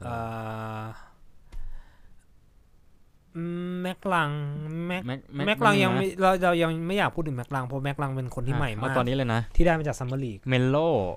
แม็กลังยังเรายังไม่อยากพูดถึงแม็กลังเพราะแม็กลังเป็นคนที่ใหม่มากตอนนี้เลยนะที่ได้มาจากซัมเมอร์ลีกเมโล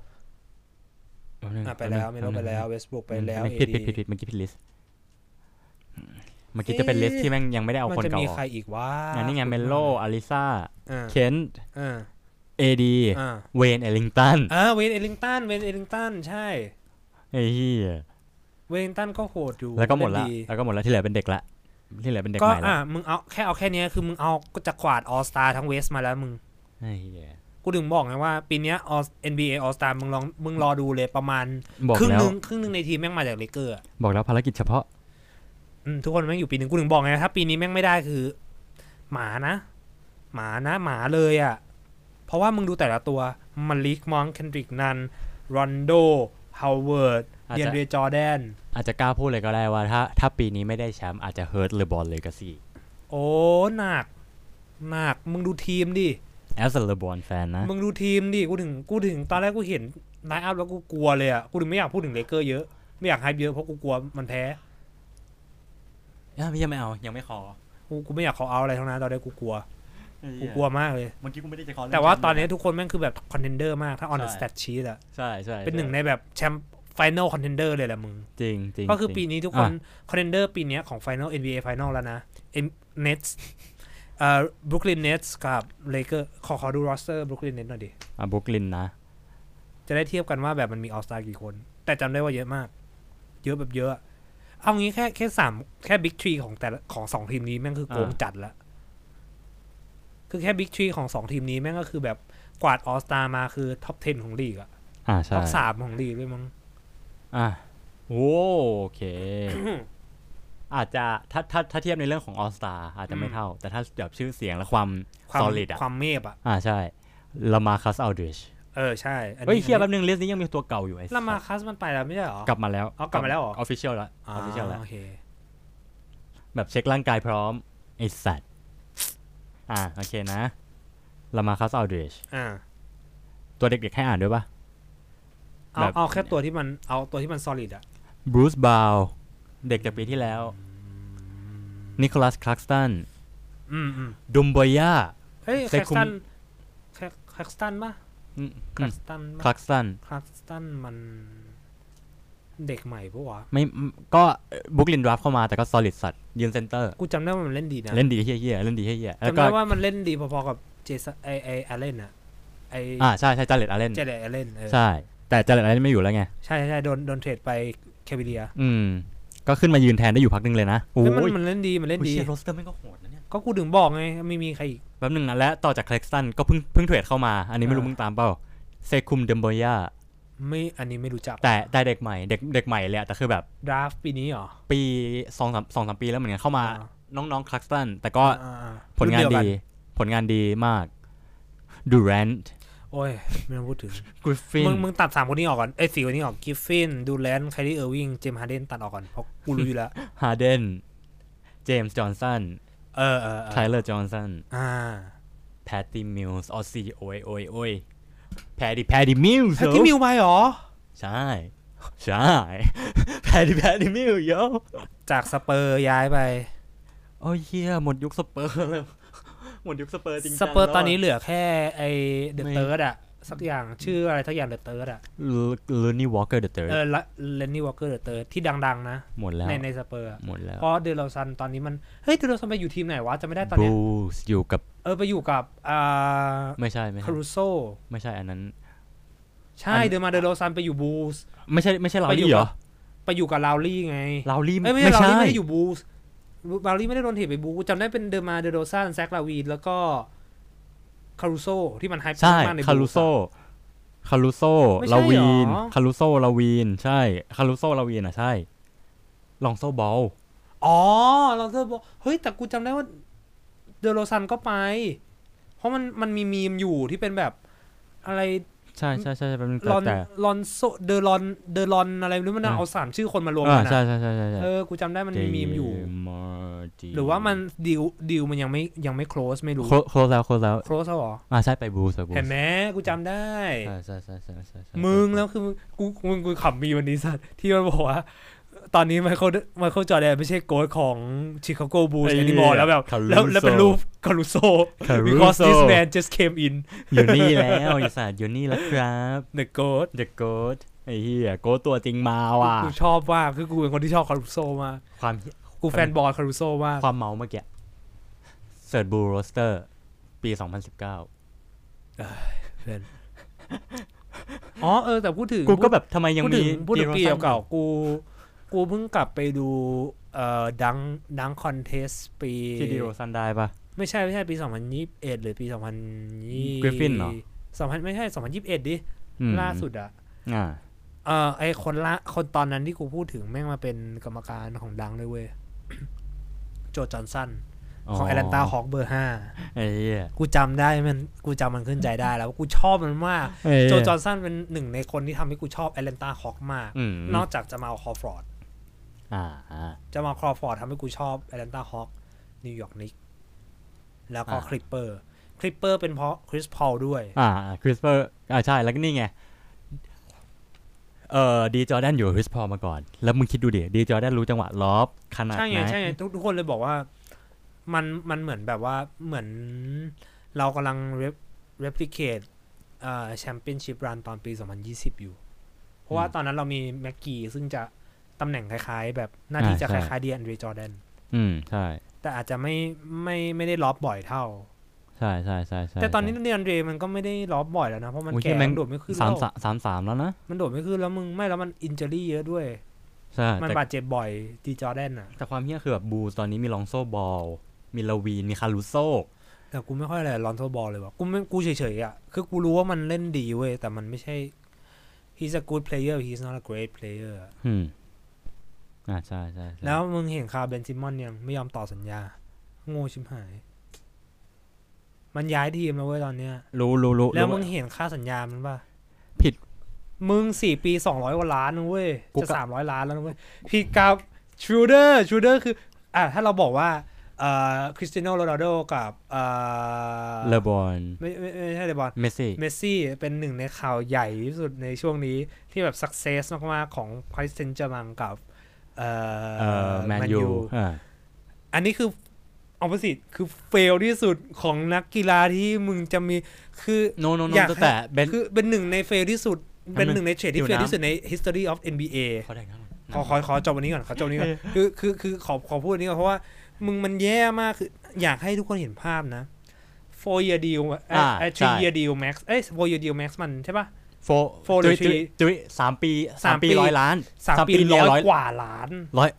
ไปแล้วเมโลไปแล้วเวสต์บรูคไปแล้วผิดเมื่อกี้ผิดลิสต์เมื่อกี้จะเป็นลิสต์ที่แม่งยังไม่ได้เอาคนเก่ามันจะมีใครอีกวะนี่ไงเมโลอาริซาเคนเอดีเวนเอลิงตันเวนเอลิงตันใช่ไอ้เหี้ยเวนตันก็โหดอยู่แล้วก็หมดแล้วที่เหลือเป็นเด็กละที่เหลือเป็นเด็กใหม่แล้วมึงเอาแค่นี้คือมึงเอาก็จะกวาดออลสตาร์ทั้งเวสมาแล้วมึงไอ้เหี้ยกูถึงบอกไงว่าปีนี้ NBA All Star มึงรอดูเลยประมาณครึ่งนึงในทีมแม่งมาจากเลเกอร์บอกแล้วภารกิจเฉพาะทุกคนแม่งอยู่ปีนึงกูถึงบอกไงถ้าปีนี้แม่งไม่ได้คือหมาเลยอ่ะเพราะว่ามึงดูแต่ละตัวมาลิกมอนเคนดริกนันรอนโดฮาวเวิร์ดเดียนเรจอร์แดนอาจจะกล้าพูดเลยก็ได้ว่าถ้าปีนี้ไม่ได้แชมป์อาจจะเฮิร์ตเลบอนเลกาซี่โอ้หนักมึงดูทีมดิ as a LeBron fan นะมึงดูทีมดิกูถึงตอนแรกกูเห็นไลน์อัพแล้วกูกลัวเลยอ่ะกูถึงไม่อยากพูดถึงเลเกอร์เยอะไม่อยากไฮป์เยอะเพราะกูกลัวมันแพ้พี่ยังไม่เอายังไม่ขอกูไม่อยากขอเอาอะไรทั้งนั้นตอนนี้กูกลัวมากเลยเมื่อกี้กูไม่ได้จะขอแต่ว่าตอนนี้ทุกคนแม่งคือแบบคอนเทนเดอร์มากถ้า on the stat sheet อ่ะใช่เป็นหนึ่งในแบบแชมป์Final Contender เลยแหละมึงจริงก็คือปีนี้ทุกคน Contender ปีนี้ของ Final NBA Final แล้วนะ Nets Brooklyn Nets กับ Lakers ขอดู roster Brooklyn Nets หน่อยดิ Brooklyn นะจะได้เทียบกันว่าแบบมันมี All Star กี่คนแต่จำได้ว่าเยอะมากเยอะแบบเยอะเอางี้แค่3แค่ Big 3ของแต่ของ2ทีมนี้แม่งคือโกงจัดละคือแค่ Big 3ของ2ทีมนี้แม่งก็คือแบบกวาด All Star มาคือ Top 10 ของลีกอ่ะใช่ Top 3ของลีกด้วยมั้งโอเค อาจจะถ้าเทียบในเรื่องของ All Star อาจจะไม่เท่าแต่ถ้าแบบชื่อเสียงและความ solid อ่ะความเมพใช่ลามาคัสอัลดิชใช่เฮ้ยเทียบแป๊บนึงลิสต์นี้ยังมีตัวเก่าอยู่ไอ้ลามาคัสมันไปแล้วไม่ใช่หรอกลับมาแล้วกลับมาแล้วเหรอ official แล้ว official แล้วโอเคแบบเช็คร่างกายพร้อมไอ้สัตว์โอเคนะลามาคัสอัลดิชตัวเด็กๆให้อ่านด้วยป่ะเอาแค่ตัวที่มัน solid อ่ะบรูซบาวเด็กจากปีที่แล้วนิโคลัสคลักสตันดุมบอยาเฮ้ยคลักสตันป่ะคลักสตันมันเด็กใหม่ปะวะไม่ก็บุคลินดราฟเข้ามาแต่ก็ solid สัตว์ยืนเซนเตอร์กูจำได้ว่ามันเล่นดีนะเล่นดีเฮี้ยจำได้ว่ามันเล่นดีพอๆกับเจสันอาเลนอ่ะใช่จาเลตอาเลนใช่แต่จาเลตอาเลนไม่อยู่แล้วไงใช่โดนเทรดไปแควิเลียก็ขึ้นมายืนแทนได้อยู่พักนึงเลยนะโอ้ยมันเล่นดีโรสเตอร์ไม่ก็โหดนะเนี่ยก็กูถึงบอกไงไม่มีใครอีกแป๊บนึงนะและต่อจากคลักสตันก็เพิ่งเทรดเข้ามาอันนี้ไม่รู้มึงตามเปล่าเซคุมเดมโบย่าไม่อันนี้ไม่รู้จักแต่เด็กใหม่เลยแต่คือแบบดราฟปีนี้เหรอปี2-3 ปีแล้วเหมือนกันเข้ามาน้องๆคลักสตันแต่ก็ผลงานดีมากดูแรนท์โอ้ยไม่ต้องพูดถึงกริฟฟินมึงตัด3คนนี้ออกก่อน4คนนี้ออกกริฟฟินดูแรนท์ไคลรี่เออร์วิงเจมส์ฮาร์เดนตัดออกก่อนเพราะกูรู้อยู่แล้วฮาร์เดนเจมส์จอห์นสันไทเลอร์จอห์นสันแพตตี้มิลส์ออซี่โอ้ยแพตตี้มิลส์ไปหรอใช่แพตตี้มิลส์จากสเปอร์ย้ายไปโอ้ยเหี้ยหมดยุคสเปอร์เลยหมดยุคสเปอร์จริงๆสเปอร์ตอนนี้เหลือแค่ไอ้เดอะเติร์ดอะสักอย่างชื่ออะไรสักอย่างเดอะเติร์ดอะเลนนี่วอล์กเกอร์เดอะเติร์ดเลนนี่วอล์กเกอร์เดอะเติร์ดที่ดังๆนะหมดแล้วในสเปอร์หมดแล้วเพราะเดลซันตอนนี้มันเฮ้ยเดลซันไปอยู่ทีมไหนวะจะไม่ได้ตอนนี้บูสอยู่กับไปอยู่กับไม่ใช่คารูโซไม่ใช่อันนั้นใช่เดลซันไปอยู่บูสไม่ใช่ลาวลี่เหรอไปอยู่กับลาวลี่ไงลาวลี่ไม่ใช่ลาวลี่ไม่ได้อยู่บูสลาวลี่ไม่ได้โดนเทไปบูจำได้เป็นเดโรซันแซคลาวีนแล้วก็คารูโซที่มันไฮป์มากในคารูโซลาวีนคารูโซลาวีนใช่คารูโซลาวีนใช่ลองโซบอลอ๋อลอนโซบอลเฮ้ยแต่กูจำได้ว่าเดโรซันก็ไปเพราะมันมีมีมอยู่ที่เป็นแบบอะไรใช่เป็นลอนโซเดอรอนอะไรหรือมันเอา3ชื่อคนมารวมกันใช่กูจำได้มันมีมอยู่หรือว่ามันดิวมันยังไม่ close ไม่รู้ close แล้ว close แล้วเหรอใช่ไปบูสเห็นไหมกูจำได้ใช่มึงแล้วคือกูขำมีวันนี้สัตว์ที่มันบอกว่าตอนนี้ไมเคิลจอร์แดนไม่ใช่โค้ชของชิคาโกบูลส์แอนิมอร์แล้วแบบแล้วเป็นรูปคารุโซ because this man just came in อยู่นี่แล้วไอ้สัตว์อยู่นี่แล้วครับ the goat ไอ้เหี้ยโก้ตัวจริงมาว่ะกูชอบมากคือกูเป็นคนที่ชอบคารุโซมากกูแฟนบอลคารุโซมากความเมาเมื่อกี้เสิร์ชบูโรสเตอร์ปี2019เพื่อนแต่พูดถึงกูก็แบบทำไมยังมีพูดถึงปีเก่ากูเพิ่งกลับไปดูดังคอนเทสปีที่ดิโรซันได้ปะไม่ใช่ปี2021หรือปี2020 กริฟฟินเหรอไม่ใช่2021ดิล่าสุดไอคนตอนนั้นที่กูพูดถึงแม่งมาเป็นกรรมการของดังเลยเว้ยโจจอห์นสันของแอตแลนตาฮอคเบอร์5 ไอ้เหี้ยกูจำมันขึ้นใจได้แล้วกูชอบมันมากโจจอห์นสันเป็นหนึ่งในคนที่ทำให้กูชอบแอตแลนตาฮอคมากนอกจากจะมาคอฟอร์ดจะมาคอฟอร์ดทำให้กูชอบแอตแลนตาฮอคนิวยอร์กนิกแล้วก็คลิปเปอร์เป็นเพราะคริสพอลด้วยคริสเปอร์ใช่แล้วก็นี่ไงดีจอร์แดนอยู่คริสพอลมาก่อนแล้วมึงคิดดูดิดีจอร์แดนรู้จังหวะล็อบขนาดไหนใช่ทุกคนเลยบอกว่ามันเหมือนแบบว่าเหมือนเรากำลังreplicateแชมเปี้ยนชิพรันตอนปี2020อยู่เพราะว่าตอนนั้นเรามีแม็กกี้ซึ่งจะตำแหน่งคล้ายๆแบบหน้าที่จะคล้ายๆดีแอนดรีจอร์แดนใช่แต่อาจจะไม่ได้ล็อบบ่อยเท่าใช่แต่ตอนนี้ดีแอนดรีมันก็ไม่ได้ล็อบบ่อยแล้วนะเพราะมันแก่โดดไม่ขึ้นแล้ว 3แล้วนะมันโดดไม่ขึ้นแล้วมึงไม่แล้วมันอินเจอรี่เยอะด้วยใช่มันบาดเจ็บบ่อยดีจอร์แดนอ่ะแต่ความเหี้ยคือแบบบูตอนนี้มีลองโซบอลมีลาวีนมีคารุโซแต่กูไม่ค่อยอะไรลอนโซบอลเลยว่ะกูเฉยๆอ่ะคือกูรู้ว่ามันเล่นดีเว้ยแต่มันไม่ใช่ he's a good player he's not a great player ใช่แล้วมึงเห็นคาร์เบนซิมอนยังไม่ยอมต่อสัญญาโง่ชิบหายมันย้ายทีมแล้วเว้ยตอนเนี้ยรู้แล้วมึงเห็นค่าสัญญามันป่ะผิดมึง4 ปี200 กว่าล้านนะเว้ยจะ300 ล้านแล้วนะเว้ยผิดกับชูเดอร์คือถ้าเราบอกว่าคริสเตียโนโรนัลโดกับเลบอนไม่ใช่เลบอนเมสซี่เป็นหนึ่งในข่าวใหญ่ที่สุดในช่วงนี้ที่แบบสักเซสมากๆของพาริสเซนต์แจร์แมงกับแมนยูอันนี้คือopposite คือเฟลที่สุดของนักกีฬาที่มึงจะมีคืออยากแต่คือเป็นหนึ่งในเฟลที่สุดเป็นหนึ่งในเทรดที่เฟลที่สุดใน history of NBA ขอจบวันนี้ก่อนคือขอพูดนี้ก่อนเพราะว่ามึงมันแย่มากคืออยากให้ทุกคนเห็นภาพนะ 4 year deal 3 year deal max 4 year deal max มันใช่ป่ะ 4 หรือ3 ปี100 ล้าน 3 ปี100 กว่าล้าน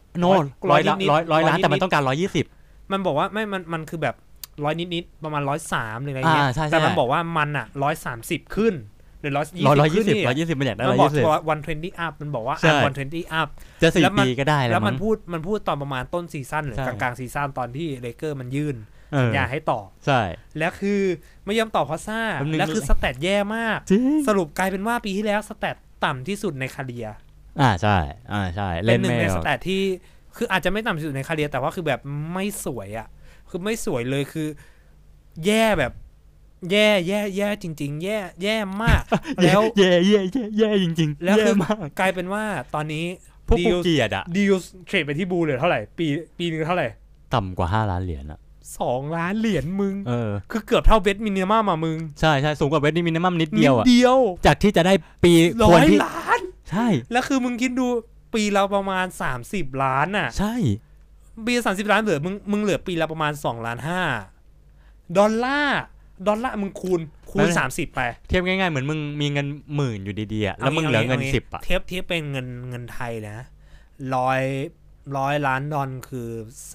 100 ล้านแต่มันต้องการ120 มันบอกว่าไม่มันคือแบบ100นิดๆประมาณ103หรืออะไรเงี้ยแต่มันบอกว่ามันอ่ะ130ขึ้นหรือ120ขึ้น 120มันอยากได้120 มันบอกว่า120 up มันบอกว่า120 up จะ4 ปีก็ได้แล้วมันพูดตอนประมาณต้นซีซั่นหรือกลางซีซั่นตอนที่เลเกอร์มันยื่นสัญญาให้ต่อใช่แล้วคือไม่ยอมต่อเพราะซ่าแล้วคือสแตทแย่มากสรุปกลายเป็นว่าปีที่แล้วสแตทต่ำที่สุดในคาเรียใช่เป็นหนึ่งในสแตทที่คืออาจจะไม่ต่ำที่สุดในคาเรียแต่ว่าคือแบบไม่สวยอ่ะคือไม่สวยเลยคือแย่แบบแย่จริงๆแย่มากแล้วแย่จริงๆแล้วคือกลายเป็นว่าตอนนี้พวกเกียรติอ่ะดีลเทรดไปที่บูเหลือเท่าไหร่ปีนึงเท่าไหร่ต่ำกว่า5 ล้านเหรียญอ่ะ 2 ล้านเหรียญมึงคือเกือบเท่าเวทมินิมัมอ่ะมึงใช่สูงกว่าเวทมินิมัมนิดเดียวอ่ะจากที่จะได้ปี 100 ล้านใช่แล้วคือมึงคิดดูปีเราประมาณ30 ล้านอ่ะใช่ปี30 ล้านเหลือมึงเหลือปีละประมาณ2.5 ล้านดอลลาร์มึงคูณ30ไปเทียบง่ายๆเหมือนมึงมีเงิน10,000อยู่ดีๆอ่ะแล้วมึงเหลือเงิน10อ่ะเทียบเป็นเงินไทยนะ100 ล้านดอลคือ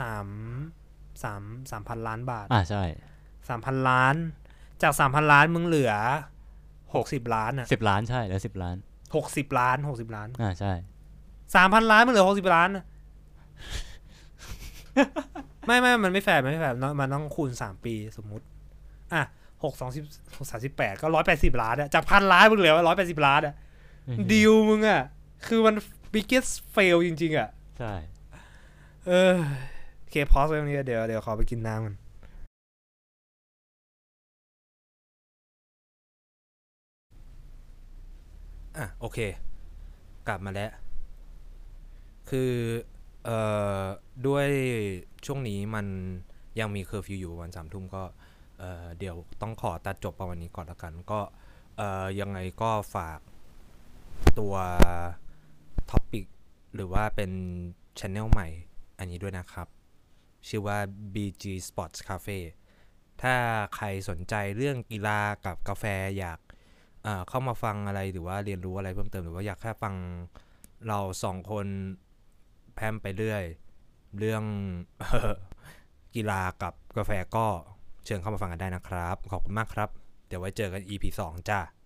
3,000 ล้านบาทใช่ 3,000 ล้านจาก 3,000 ล้านมึงเหลือ60 ล้านอ่ะ 10 ล้านใช่แล้ว10 ล้าน 60 ล้านใช่ 3,000 ล้านมึงเหลือ60 ล้านไม่มันไม่แฟร์มันต้องคูณ3ปีสมมุติอ่ะ6 2 38ก็180 ล้านอะจาก1,000 ล้านมึงเหลือ180 ล้านอะดีลมึงอะคือมัน biggest fail จริงๆอะใช่โอเคพอสไว้ตรงนี้เดี๋ยวขอไปกินน้ำกันโอเคกลับมาแล้วคือด้วยช่วงนี้มันยังมีเคอร์ฟิวอยู่วัน3 ทุ่มก็เดี๋ยวต้องขอตัดจบประมาณนี้ก่อนละกันก็ยังไงก็ฝากตัวท็อปิกหรือว่าเป็น channel ใหม่อันนี้ด้วยนะครับชื่อว่า BG Sports Cafe ถ้าใครสนใจเรื่องกีฬากับกาแฟอยากเข้ามาฟังอะไรหรือว่าเรียนรู้อะไรเพิ่มเติมหรือว่าอยากแค่ฟังเรา2 คนแพร่มไปเรื่อยเรื่องกีฬากับกาแฟก็เชิญเข้ามาฟังกันได้นะครับขอบคุณมากครับเดี๋ยวไว้เจอกัน EP 2จ้า